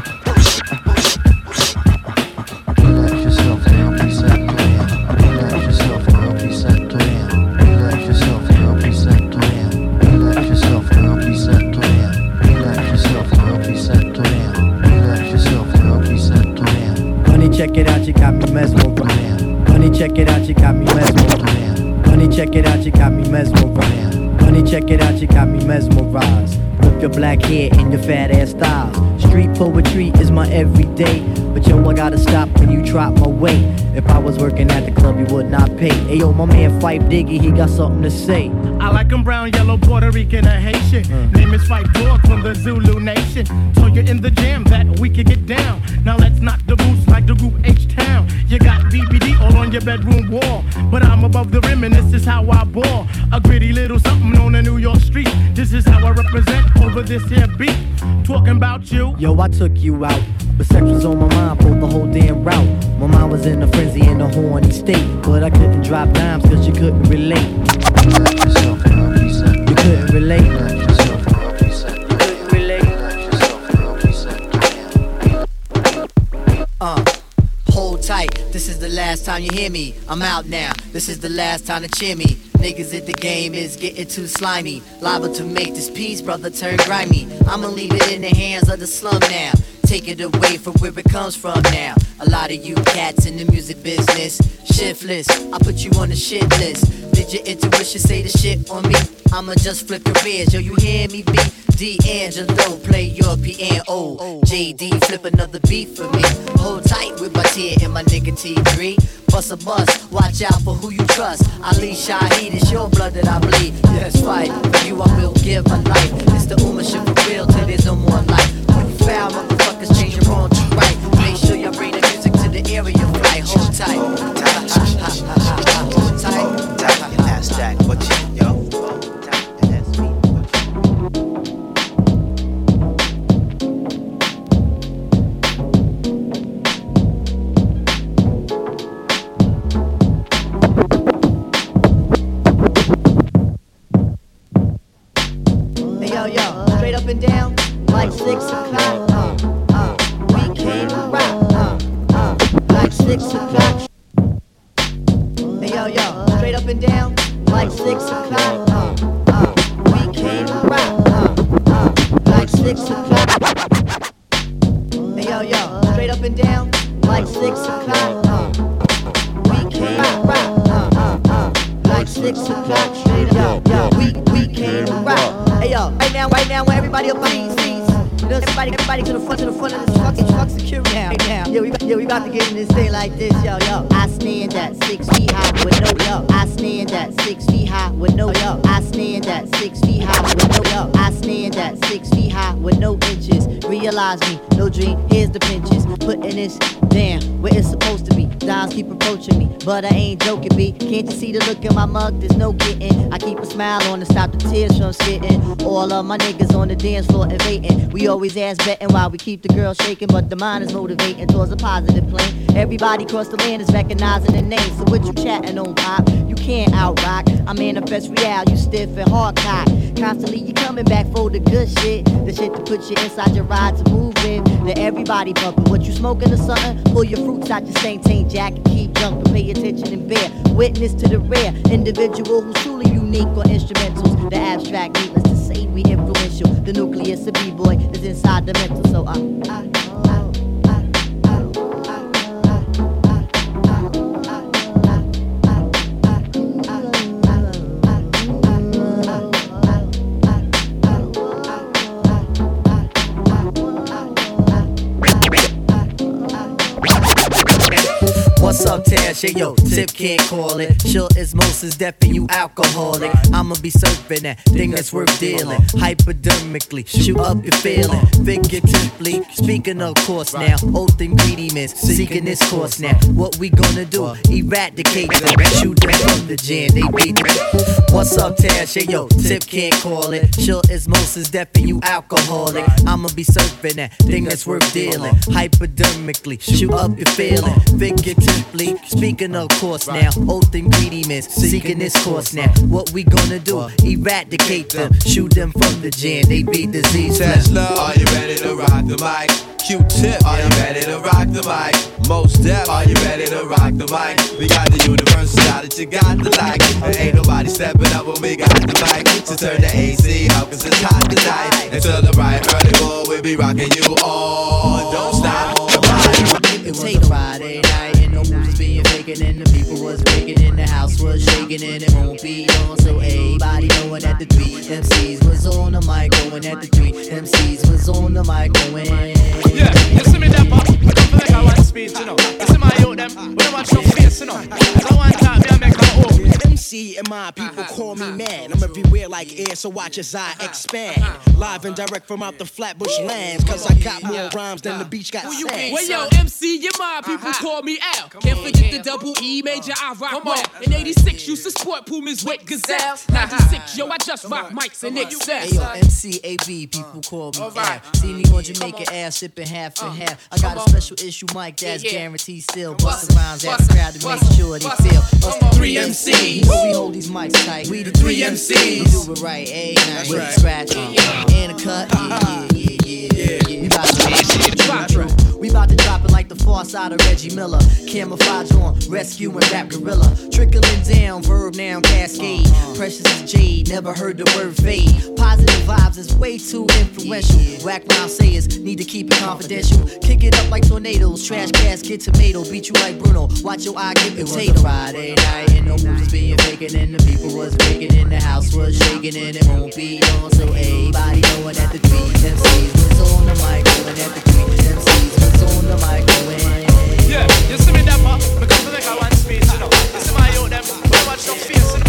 Check it out, you got me mesmerized. Honey, check it out, you got me mesmerized. Honey, check it out, you got me mesmerized. Honey, check it out, you got me mesmerized. With your black hair and your fat ass style. Street poetry is my everyday. But yo, I gotta stop when you drop my weight. If I was working at the club, you would not pay. Ayo, my man Fife Diggy, he got something to say. I like him brown, yellow, Puerto Rican, or Haitian. Mm. Name is Fife Dog from the Zulu Nation. Told you in the jam that we could get down. Now let's knock the boots like the group H-Town. You got B B D all on your bedroom wall. But I'm above the rim and this is how I ball. A gritty little something on the New York street. This is how I represent over this here beat. Talking about you. Yo, I took you out. But sex was on my mind for the whole damn route. My mind was in a frenzy in a horny state. But I couldn't drop dimes cause you couldn't relate. You couldn't relate. You couldn't relate. Uh, hold tight, this is the last time you hear me. I'm out now, this is the last time to cheer me. Niggas at the game is getting too slimy. Liable to make this piece, brother, turn grimy. I'ma leave it in the hands of the slum now. Take it away from where it comes from now. A lot of you cats in the music business, shiftless, I put you on the shit list. Did your intuition say the shit on me? I'ma just flip careers, yo, you hear me beat? D'Angelo, play your piano. J D, flip another beat for me. Hold tight with my tear and my nigga T three. Bust a bust, watch out for who you trust. Ali Shaheed, it's your blood that I bleed. Yes, right, for you I will give my life. It's the Uma shit for real till there's no more life. When you foul, motherfuckers change your wrong to right. Make sure you bring the music to the area of light. Hold tight. Hold tight. Hold tight. That's that, what you, yo. Yo, yo, straight up and down, like six o'clock, uh, uh, we came to rock, uh, uh, like six o'clock. Hey, yo, yo, straight up and down, like six o'clock, uh, uh, we came to rock, uh, uh, like six o'clock. Hey, yo, yo, straight up and down, like like six o'clock. Uh, we came rock, rock, uh, uh, uh, like six o'clock. Straight up, yo, we we came to rock. Hey yo, right now, right now, where everybody up on these seats. You know, everybody, everybody to the front, to the front of this fucking truck security now, right now. Yeah, we, yeah, we about to get in this thing like this, yo, yo. I stand at six feet high with no, yo. I stand at six feet high with no, yo. I stand at six feet high with no, yo. I stand at six feet high with no inches. Realize me, no dream, here's the pinches. Putting this down where it's supposed to be. Dimes keep approaching me, but I ain't joking, B. Can't you see the look in my mug? There's no getting. I keep a smile on to stop the tears from spitting. All of my niggas on the dance floor invading. We always ass betting while we keep the girl shaking, but the mind is motivating towards a positive plane. Everybody across the land is recognizing the name. So what you chatting on, pop? You can't out rock. I manifest real, you stiff and hard cock. Constantly you coming back for the good shit, the shit to put you inside your ride to move in. Let everybody bumping. What you smoking or something? Pull your fruits out your same tank jacket, keep jumping. Pay attention and bear witness to the rare individual who's truly unique on instrumentals. The abstract needless to say we influential. The nucleus of B-boy is inside the mental. So I, I What's up, Tash? Yeah, yo, Tip can't call it. Sure as most is deaf and you alcoholic. I'ma be surfing that thing that's worth dealing. Hypodermically, shoot up your feeling. Figuratively, speaking of course now. Oath ingredients, seeking this course now. What we gonna do? Eradicate them, shoot them from the jam. They beat it. What's up, Tash? Yeah, yo, Tip can't call it. Sure as most is deaf and you alcoholic. I'ma be surfing that thing that's worth dealing. Hypodermically, shoot up your feeling. Figuratively, speaking of course now. Oath ingredients, seeking this course now. What we gonna do? Eradicate them, shoot them from the jam. They be disease. Tesla, are you ready to rock the mic? Q-Tip, are you ready to rock the mic? Most Def, are you ready to rock the mic? We got the universal style that you got to like. And ain't nobody stepping up when we got the mic. So turn the A C up cause it's hot tonight. Until the right early morning, we'll be rocking you all. Don't stop. It was a Friday night and no moves was being faking and the people was breaking and the house was shaking and it won't be on. So everybody knowing that the three M Cs was on the mic, going at the three M Cs was on the mic, going. Yeah, you see me that part? I don't feel like I want speech, you know. You see my youth them, we don't watch no face, you know. I want that, me I make my own. M C and my people call me mad. I'm everywhere like air, so watch as I expand. Live and direct from out the Flatbush lands, cause I got more rhymes than the beach got sand. Well, yo, M C, your my people call me Al. Can't forget the double E major, I rock well. In eighty-six, used to sport Pumas with Gazelle. ninety-six, yo, I just rock mics and excel. Hey, yo, M C A B, people call me Al. See me on Jamaica Ave, sipping half and half. I got a special issue mic that's guaranteed still. Bustin' rhymes at the crowd to make sure they feel. Us the three M Cs. But we hold these mics tight. We the three M Cs. We do it right, eh? Now with a scratch and a cut. Yeah, yeah, yeah, yeah, yeah. We about to drop it. We about to drop it like the far side of Reggie Miller. Camouflage on, rescue and rap gorilla. Trickling down, verb noun cascade. Precious as jade, never heard the word fade. Positive vibes is way too influential. Whack rhyme sayers need to keep it confidential. Kick it up like tornadoes, trash casket tomato. Beat you like Bruno, watch your eye get potato. It was a Friday night and no moves was being faking and the people was breaking and the house was shaking and it won't be on. So everybody knowing that the three M Cs was on the mic, knowing that the three M Cs was on the mic, going. Yeah, you see me that part? Because I make I want speech, you know. You see my youth them, we don't watch no face, you know.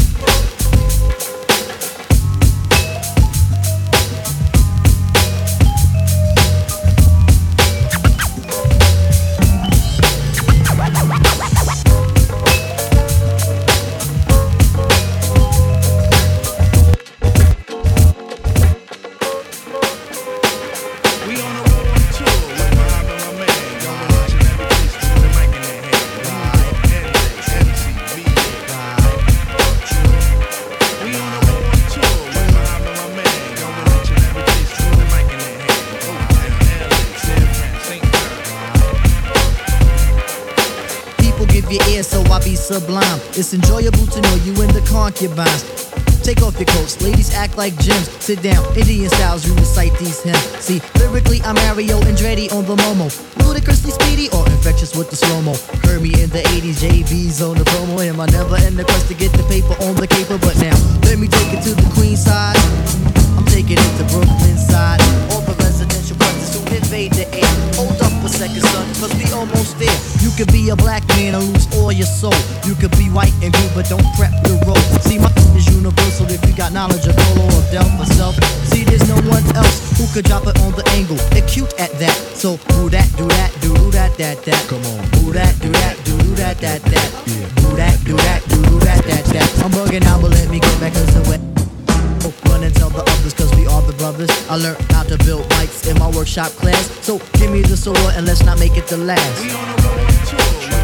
Sublime. It's enjoyable to know you in the concubines. Take off your coats, ladies act like gems. Sit down, Indian styles, you recite these hymns. See, lyrically I'm Mario Andretti on the Momo. Ludicrously speedy or infectious with the slow-mo. Heard me in the eighties, J V's on the promo. Am I never in the quest to get the paper on the caper? But now, let me take it to the Queen side. I'm taking it to Brooklyn side. All the residential brothers who invade the air. Hold up a second, son, cause we almost there. You could be a black man and lose all your soul. You could be white and blue, but don't prep the road. See, my is universal if you got knowledge of Polo or Del myself. See, there's no one else who could drop it on the angle. They're cute at that. So, do that, do that, do that, that, that. Come on. Do that, do that, do that, that, that. Do that, do that, do that, that, that. I'm bugging out, but let me get back cause the way. Run and tell the others cause we are the brothers. I learned how to build bikes in my workshop class. So give me the sword and let's not make it the last. We on the road too.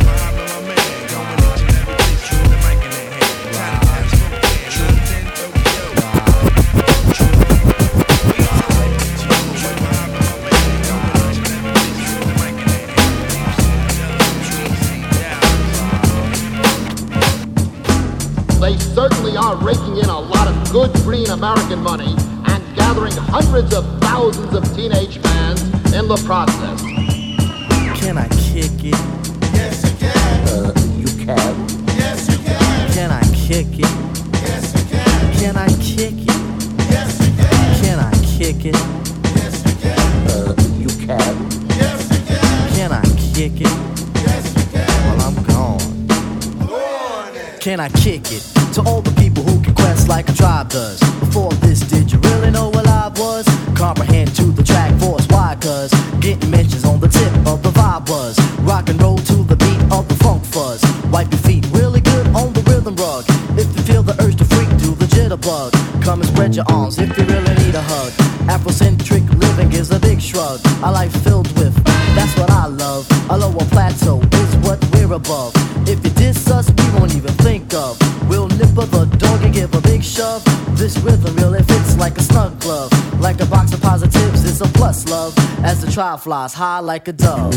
They certainly are raking in a lot of good green American money and gathering hundreds of thousands of teenage fans in the process. Can I kick it? Yes, you can. Uh, you can. Yes, you can. Can I kick it? Yes, you can. Can I kick it? Yes, you can. Can I kick it? Yes, you can. Uh, you can. Yes, you can. Can I kick it? Yes, you can. Well, I'm gone. Can I kick it? To all the people who can quest like a tribe does. Before this, did you really know what I was? Comprehend to the track force, why? Cause getting mentions on the tip of the vibe was. Rock and roll to the beat of the funk fuzz. Wipe your feet really good on the rhythm rug. If you feel the urge to freak, do the jitterbug. Come and spread your arms if you really need a hug. Afrocentric living is a big shrug. A life filled with, that's what I love. A lower plateau is what we're above. If you diss us, we won't even think of. We'll nip of the dog and give a big shove. This rhythm really fits like a snug glove. Like a box of positives, it's a plus love. As the trial flies high like a dove.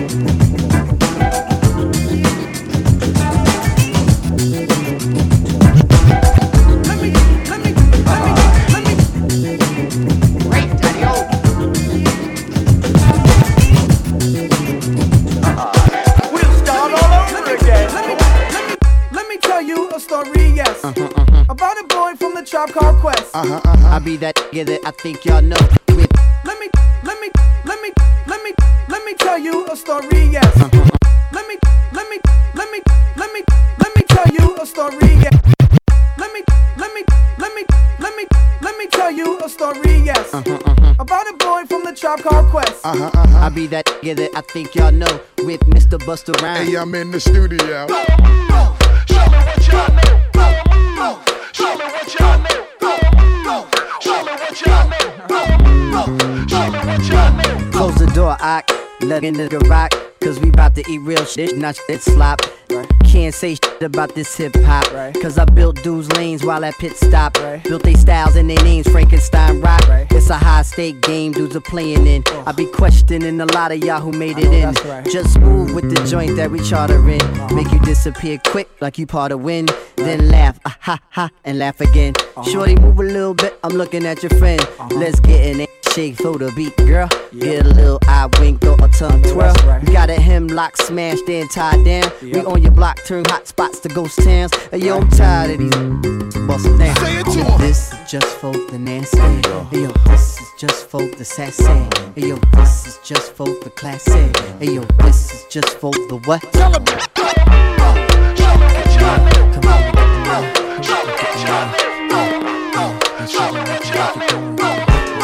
Uh-huh, uh-huh. About a boy from the Tribe Called Quest. Uh-huh, uh-huh. I be that nigga that I think y'all know. With let me, let me, let me, let me, let me tell you a story, yes. Uh-huh. Let me, let me, let me, let me, let me tell you a story, yes. Let me, let me, let me, let me, let me tell you a story, yes. Uh-huh, uh-huh. About a boy from the Tribe Called Quest. Uh-huh, uh-huh. I be that nigga that I think y'all know. With Mister Busta Rhymes. Hey, I'm in the studio. Show me what y'all know. Show me what y'all know. Show me what y'all know. Show me what y'all know. Close the door, I let in the rock. Cause we bout to eat real shit, not shit slop. Right. Can't say shit about this hip hop. Right. Cause I built dudes' lanes while at pit stop. Right. Built they styles and their names, Frankenstein rock. Right. It's a high stake game dudes are playing in. Oh. I be questioning a lot of y'all who made it in. Right. Just move with the joint that we charter in. Uh-huh. Make you disappear quick like you part of wind. Right. Then laugh, ah ha ha, and laugh again. Uh-huh. Shorty, move a little bit, I'm looking at your friend. Uh-huh. Let's get in it. Shake through the beat, girl. Yeah. Get a little eye wink or a tongue twirl. Right. You got a hemlock smashed then tied down. Yep. We on your block, turn hot spots to ghost towns. Hey, yo, I'm tired of these bust them down. Say it to him. This is just for the nasty. Hey, yo, this is just for the sassy. Hey, yo, this is just for the classy. Hey, yo, this is just for the what? Tell him. Come on, Show me what y'all know. come on, come on. Show me what y'all know. Show me what y'all know.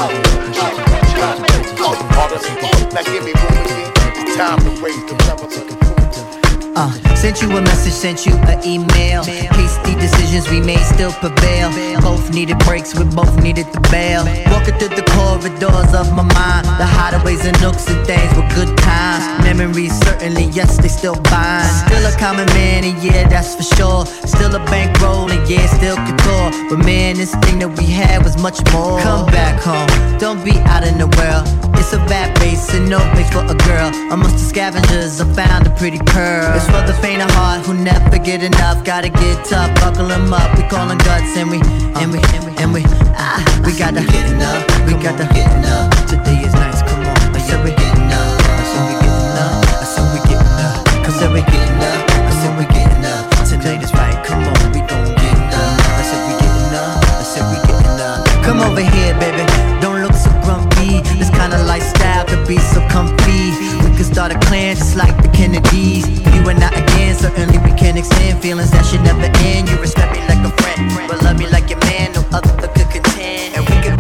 Now give me room again. Time to raise the level to the Uh, sent you a message, sent you an email. Hasty decisions we made still prevail. Both needed breaks, we both needed the bail. Walking through the corridors of my mind, the hideaways and nooks and things were good times. Memories certainly, yes, they still bind. Still a common man, and yeah, that's for sure. Still a bankroll, and yeah, still couture. But man, this thing that we had was much more. Come back home, don't be out in the world. It's a bad base and no place for a girl. Amongst the scavengers, I found a pretty pearl. It's for the faint of heart who never get enough. Gotta get tough, buckle 'em them up. We callin' guts and we, and we, and we, and we, ah, we got the getting up. We got the getting up. Today is nice, come on. I said we getting up. I said we getting up. I said we getting up. I said we getting up. I said we getting up. Tonight is right, come on, we gon' get up. I said we getting up. I said we getting up. Come over here, baby. Don't look so grumpy. This kind of lifestyle could be so comfy. We could start a clan just like the Kennedys. You and I again, certainly we can extend feelings that should never end. You respect me like a friend, but love me like your man. No other could contend. And we could.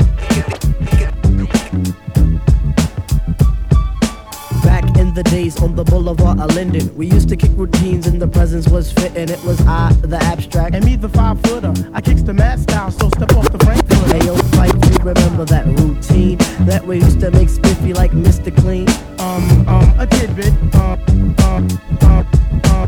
The days on the boulevard of Linden, we used to kick routines and the presence was fitting. It was I, the abstract, and me, the five footer. I kicks the mad style, so step off the Frankfurt. Hey yo, Fife, you remember that routine that we used to make spiffy like Mister Clean? Um, um, a tidbit. Um, um, um, um.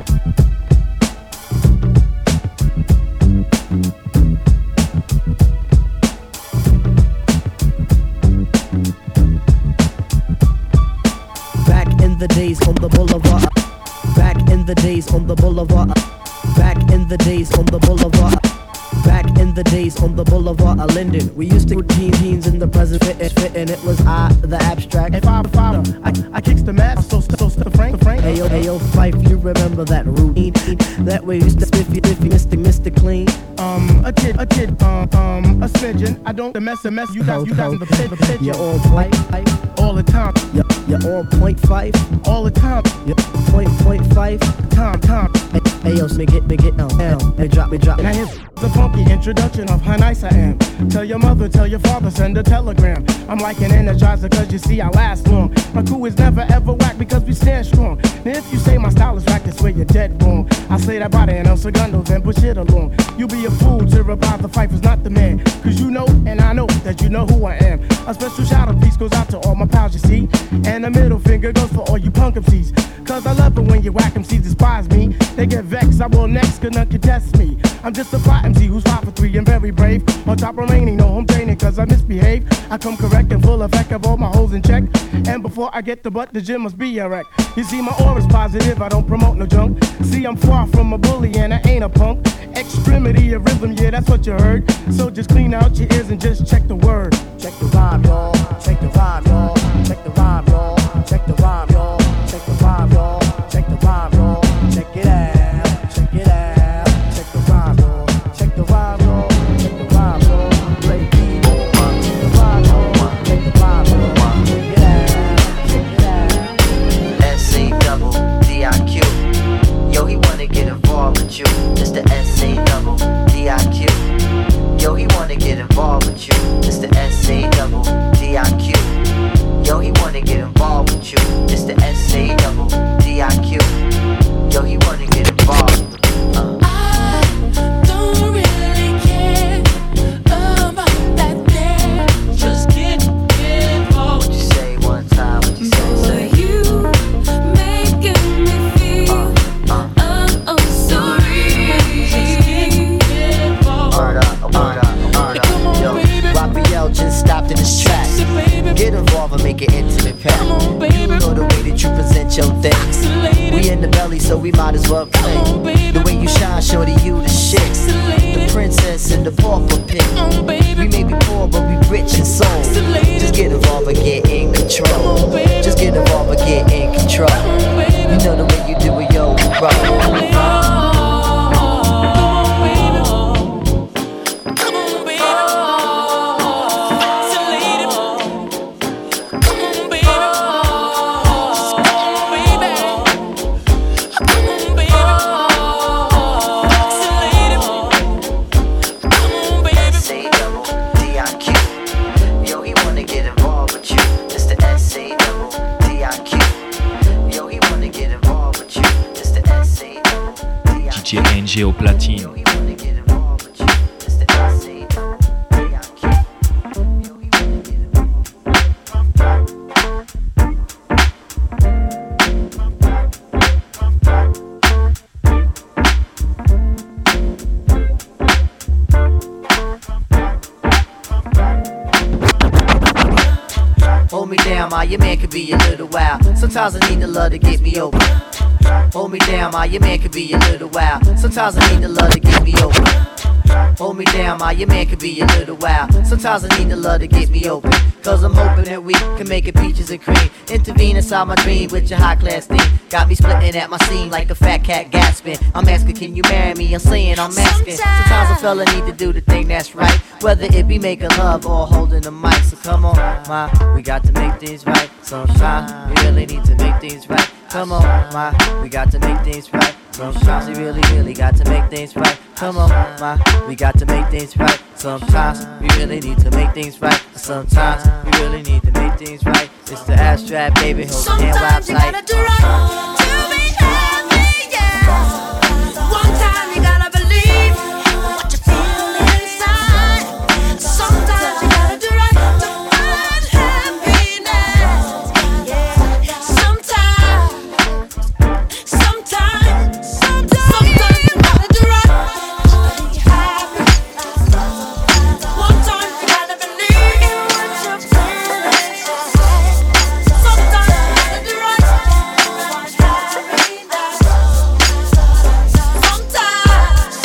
The days on the boulevard, back in the days on the boulevard, back in the days on the boulevard, back in the days on the boulevard of Linden. We used to routine teens in the present fit, fit, and it was I, the abstract. And five, five, I, I kicks the mask, so, so, so, Frank, Frank. Hey yo, hey yo, Fife, you remember that routine that we used to spiffy, spiffy, Mister Mister Clean? Um, a kid, a kid, um, um, a smidgen. I don't the mess, the mess. You got, you got in the pit, the pit. You're on point, all the time. You're, you're on point five, all the time. You're point point five, time, time. Hey, hey yo, make it, make it down, down. Hey, drop, me drop. Now here's the funky introduction of how nice I am. Tell your mother, tell your father, send a telegram. I'm like an energizer, cause you see I last long. My crew is never ever whack because we stand strong. Now if you say my style is whack, that's where you're dead wrong. I say that by the El Segundo, then push it along. You be a fool to revive the fight was not the man. Cause you know, and I know, that you know who I am. A special shout out piece goes out to all my pals, you see. And the middle finger goes for all you punk M Cs. Cause I love it when you whack M Cs despise me. They get vexed, I will next, cause none can test me. I'm just a fly M C who's five for three and very brave. On top remaining, no home training cause I misbehave. I come correct and full effect of all my hoes in check. And before I get the butt, the gym must be a wreck. You see my aura's positive, I don't promote no junk. See I'm far from a bully and I ain't a punk. Extremity of rhythm, yeah that's what you heard. So just clean out your ears and just check the word. Check the rhyme, y'all. Check the rhyme, y'all. Check the rhyme, y'all. Check the rhyme, y'all. Check the rhyme, y'all. Check the rhyme, y'all. Check it out. Check it out. Check the rhyme, y'all. Check the rhyme, y'all. Check the rhyme, y'all. Play the beat. Check the rhyme, y'all. Check the rhyme, y'all. Check it out. Check it out. S A double D I Q. Yo, he wanna get involved with you. It's the S A double D I Q. Yo, he wanna get involved with you. It's the S A double D I Q. Yo, he wanna get involved with you. It's the S A double D I Q. Yo, he wanna get involved. Uh. I don't really care about that there. Just get involved. What you say one time? What you say? Say. You making me feel uh, uh. oh, oh sorry. Just get involved. Word up, word up, word up. Yo, Raphael just stopped in his tracks. Get involved and make an intimate pact. You know the way that you present your things. We in the belly, so we might as well play. The way you shine, shorty, you the shit. The princess and the pauper pick. We may be poor, but we rich in soul. Just get involved and get in control. Just get involved and get in control. You know the way you do it, yo, bro. D J N G au platine. Hold me down, ma, your man could be a little wild. Sometimes I need the love to get me over. Hold me down, ma, your man could be a little wild. Sometimes I need the love to get me over. Hold me down, ma, your man could be a little wild. Sometimes I need the love to get me open, cause I'm hoping that we can make it peaches and cream. Intervene inside my dream with your high class theme. Got me splitting at my seam like a fat cat gasping. I'm asking, can you marry me? I'm saying I'm asking. Sometimes a fella need to do the thing that's right, whether it be making love or holding the mic. So come on, ma, we got to make things right. Sometimes we really need to make things right. Come on, ma, we got to make things right. Sometimes we really, really got to make things right. Come on, ma, we got to make things right. Sometimes we really need to make things right. Sometimes we really need to make things right. It's the abstract, baby, hold your hand Sometimes you gotta do right to be happy, yeah. One time you gotta believe what you feel inside. Sometimes you gotta do right to find happiness, yeah. Sometimes, sometimes, sometimes you gotta do right to be happy. One time you gotta believe what you feel inside. Sometimes you gotta do right to find happiness. Sometimes,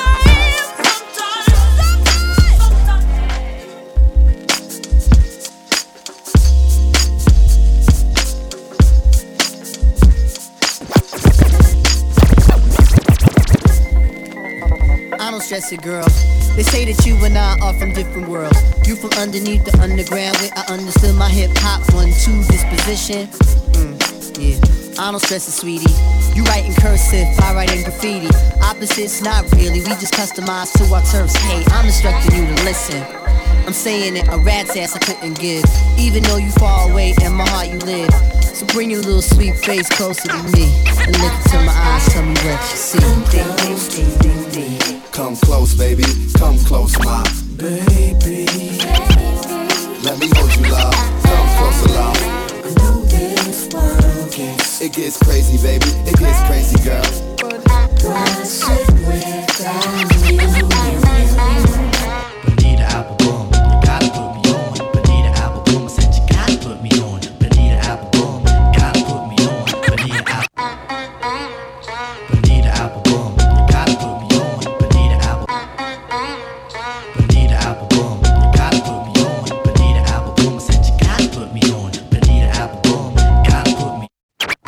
I don't stress it, girl. They say that you and I are from different worlds. You from underneath the underground where I understood my hip hop one two disposition. Mm, yeah, I don't stress it, sweetie. You write in cursive, I write in graffiti. Opposites, not really. We just customize to our terms. Hey, I'm instructing you to listen. I'm saying it, a rat's ass I couldn't give. Even though you far away, in my heart you live. So bring your little sweet face closer to me and look into my eyes, tell me what you see. Ding, ding, ding, ding, ding. Come close, baby, come close, my baby. Let me hold you, love. Come closer, love. I know this world gets, it gets crazy, baby. It gets crazy, girl. But what's it without you? Bonita Applebum, you gotta put me on. Bonita Applebum, I said you gotta put me on. Bonita Applebum, gotta put me on. Bonita Applebum, Bonita Applebum, you gotta put me on. Bonita Applebum, Bonita Applebum, you gotta put me on. Bonita Applebum, I said you gotta put me on. Bonita Applebum, gotta put me.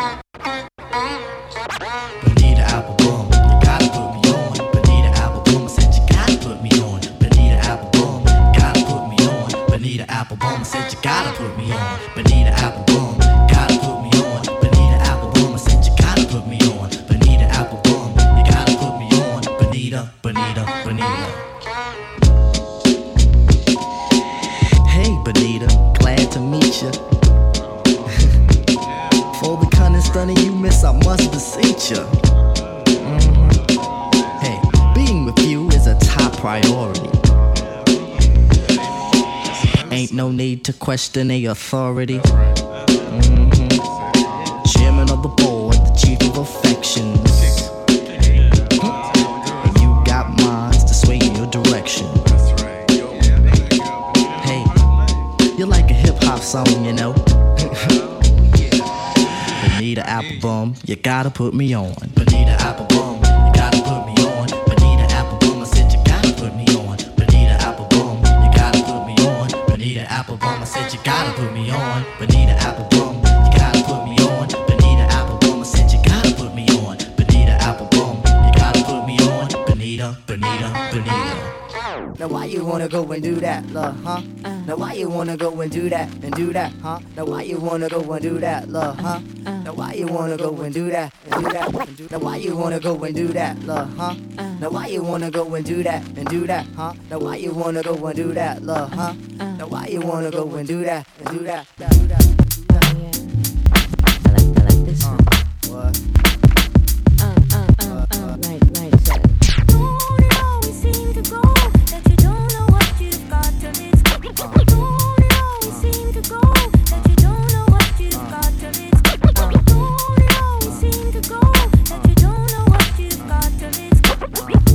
Bonita Applebum, you gotta put me on. Bonita Applebum, I said you gotta put me on. Bonita Applebum, gotta put me on. Bonita Applebum, I said you gotta put me on. Bonita Applebum, gotta put me on. Bonita Applebum, I said you gotta put me on. Bonita Applebum, you gotta put me on. Bonita, Bonita, Bonita. Hey, Bonita, glad to meet ya. For the cunning stunning you miss, I must beseech ya. Mhm. Hey, being with you is a top priority. Ain't no need to question a authority. Mhm. Chairman of the board, the chief of affections. And you got minds to sway in your direction. Hey, you're like a hip hop song, you know. Bonita Applebum, you gotta put me on. Bonita Applebum, you gotta put me on. Bonita Applebum, I said you gotta put me on. Bonita Applebum, you gotta put me on. Bonita Applebum, I said you gotta put me on. Bonita Applebum, you gotta put me on. Bonita Applebum, I said you gotta put me on. Bonita Applebum, you gotta put me on. Bonita, Bonita, Bonita. Now why you wanna go and do that, love, huh? Now why you wanna go and do that and do that, huh? Now why you wanna go and do that, love, huh? Now why you wanna go and do that and do that and do that? Now why you wanna go and do that, love, huh? Now why you wanna go and do that and do that, huh? Now why you wanna go and do that, love, huh? Now why you wanna go and do that and do that, do that, do that? I like, I like this one. What? Um, um, um, um, right, right, set. Don't it always seem to go that you don't know what you've got till it's gone? Don't it always seem to go that you don't know what you've got till it's gone? Don't it always seem to go that you don't know what you've got till it's gone?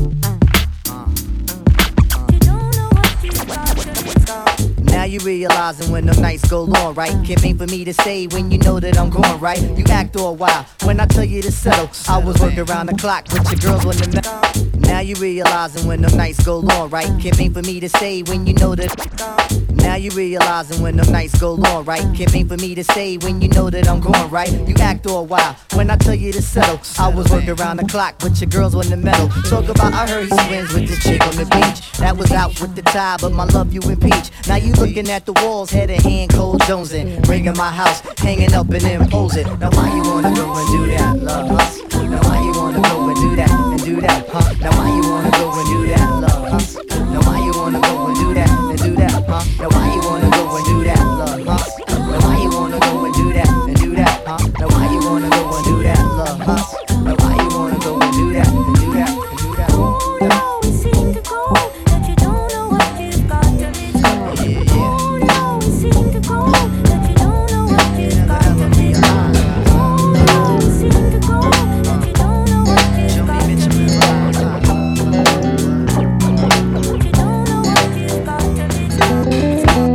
You don't know what you've got till it's gone. Now you realizing when the nights go long, right? Can't wait for me to stay when you know that I'm gone, right? You act all wild when I tell you to settle. I was working around the clock with your girls on the net. Now you realizing when them nights go long, right? Can't wait for me to stay when you know that. Now you realizing when them nights go long, right? Can't wait for me to stay when you know that I'm going right. You act all wild when I tell you to settle. I was working around the clock, but your girls on the metal. Talk about I heard he swims with this chick on the beach. That was out with the tide, but my love you impeach. Now you looking at the walls, head and hand, cold jonesing. Ringing my house, hanging up and imposing. Now why you wanna go and do that, love, huh? Now why you wanna go and do that, and do that, huh? Now why you wanna go and do that, love, huh? Now why you wanna go and do that, and do that, huh? Now why you wanna go and do that, love, huh? Now why you wanna go and do that, and do that, huh? Now why you wanna go and do that, love, huh? Now why you wanna go and do that, and do that, and do that? Oh, you always seem to go, that you don't know what you've got till it's gone. Yeah, yeah. Oh, you always seem to go, that you don't know what you've got till it's gone. Oh, you always seem to go, that you don't know what you've got till it's gone. But you don't know what you've got till it's gone.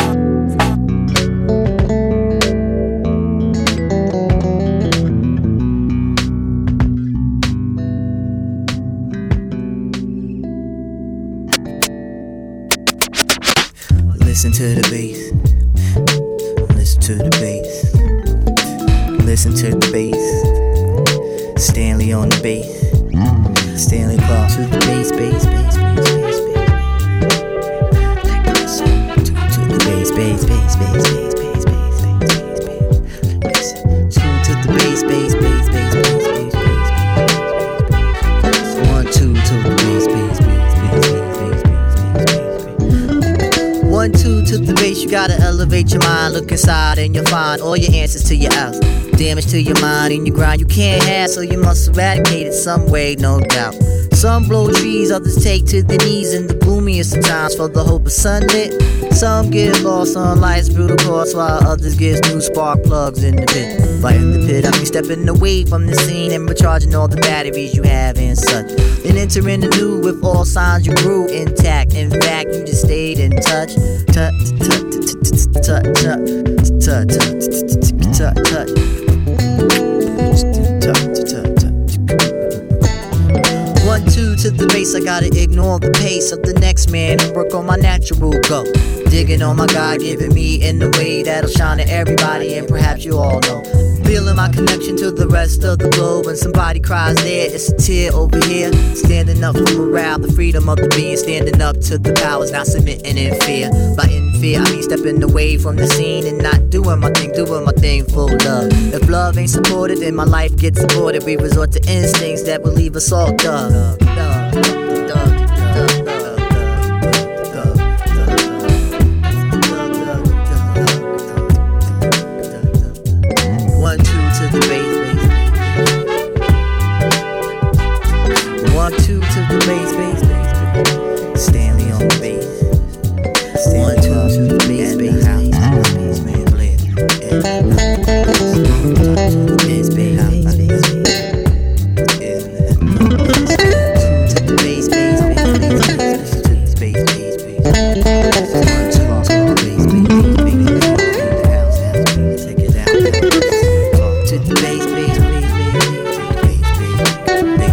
Listen to the bass. Listen to the bass. Listen to the bass. Stanley on the bass. Stanley Clark to the bass, bass, bass, bass, bass, bass. Like this. To, to the bass, bass, bass, bass, bass, bass, bass, bass, bass, bass. Listen to the bass, bass, bass, bass, bass, bass, bass, bass. One, two to the bass, bass, bass, bass, bass, bass, bass. One, two to the bass, you gotta elevate your mind. Look inside and you'll find all your answers to your else. Damage to your mind and your grind you can't have, so you must eradicate it some way, no doubt. Some blow trees, others take to their knees in the gloomiest of times for the hope of sunlit. Some get lost on life's brutal course, while others get new spark plugs in the pit. Right in the pit, I mean stepping away from the scene and recharging all the batteries you have and such. Then entering the new with all signs you grew intact. In fact, you just stayed in touch. Touch, touch, touch, touch, touch, touch, touch, touch. One, two to the bass, I gotta ignore the pace of the next man and work on my natural go. Digging on my God giving me in the way that'll shine to everybody, and perhaps you all know. Feeling my connection to the rest of the globe. When somebody cries there, it's a tear over here. Standing up for morale, the freedom of the being. Standing up to the powers, not submitting in fear. By in fear, I mean stepping away from the scene and not doing my thing, doing my thing full love. If love ain't supported, then my life gets aborted. We resort to instincts that will leave us all dumb. One, two to the bass, bass. One, two to the bass, bass, bass. Stanley on the bass. One, two to the bass, bass, bass, man, blend. Bass, bass, bass, to the bass, bass, bass, bass, to the bass, bass, bass. One, two to the bass, bass, bass, house, house, take it out. To the bass, bass, bass, bass, bass,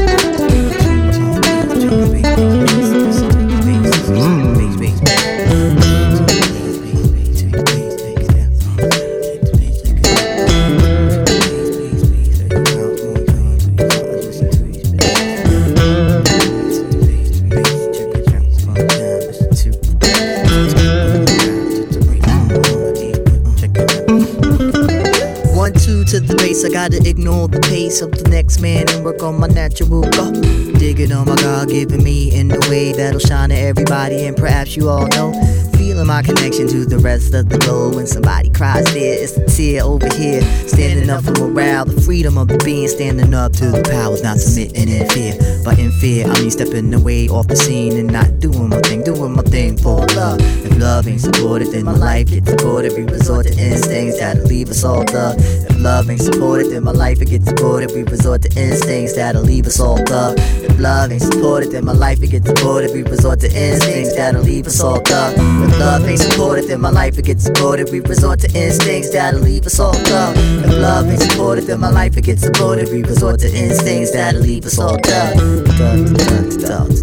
I gotta ignore the pace of the next man and work on my natural go. Digging on my God giving me in the way that'll shine to everybody, and perhaps you all know. Feeling my connection to the rest of the globe. When somebody cries there, it's a tear over here. Standing up for morale, the freedom of the being. Standing up to the powers, not submitting in fear. But in fear, I mean stepping away off the scene and not doing my thing, doing my thing for love. If love ain't supported, then my life gets aborted. We resort to instincts that'll leave us all thug. If love ain't supported, then my life it gets aborted. supported, we resort to instincts that'll leave us all thug. If love ain't supported, then my life it gets aborted. We resort to instincts that'll leave us all thug. If love ain't supported, then my life it gets aborted. We resort to instincts that'll leave us all thug. If love ain't supported, then my life it gets aborted. We resort to instincts that'll leave us all thug. Thug, thug, thug.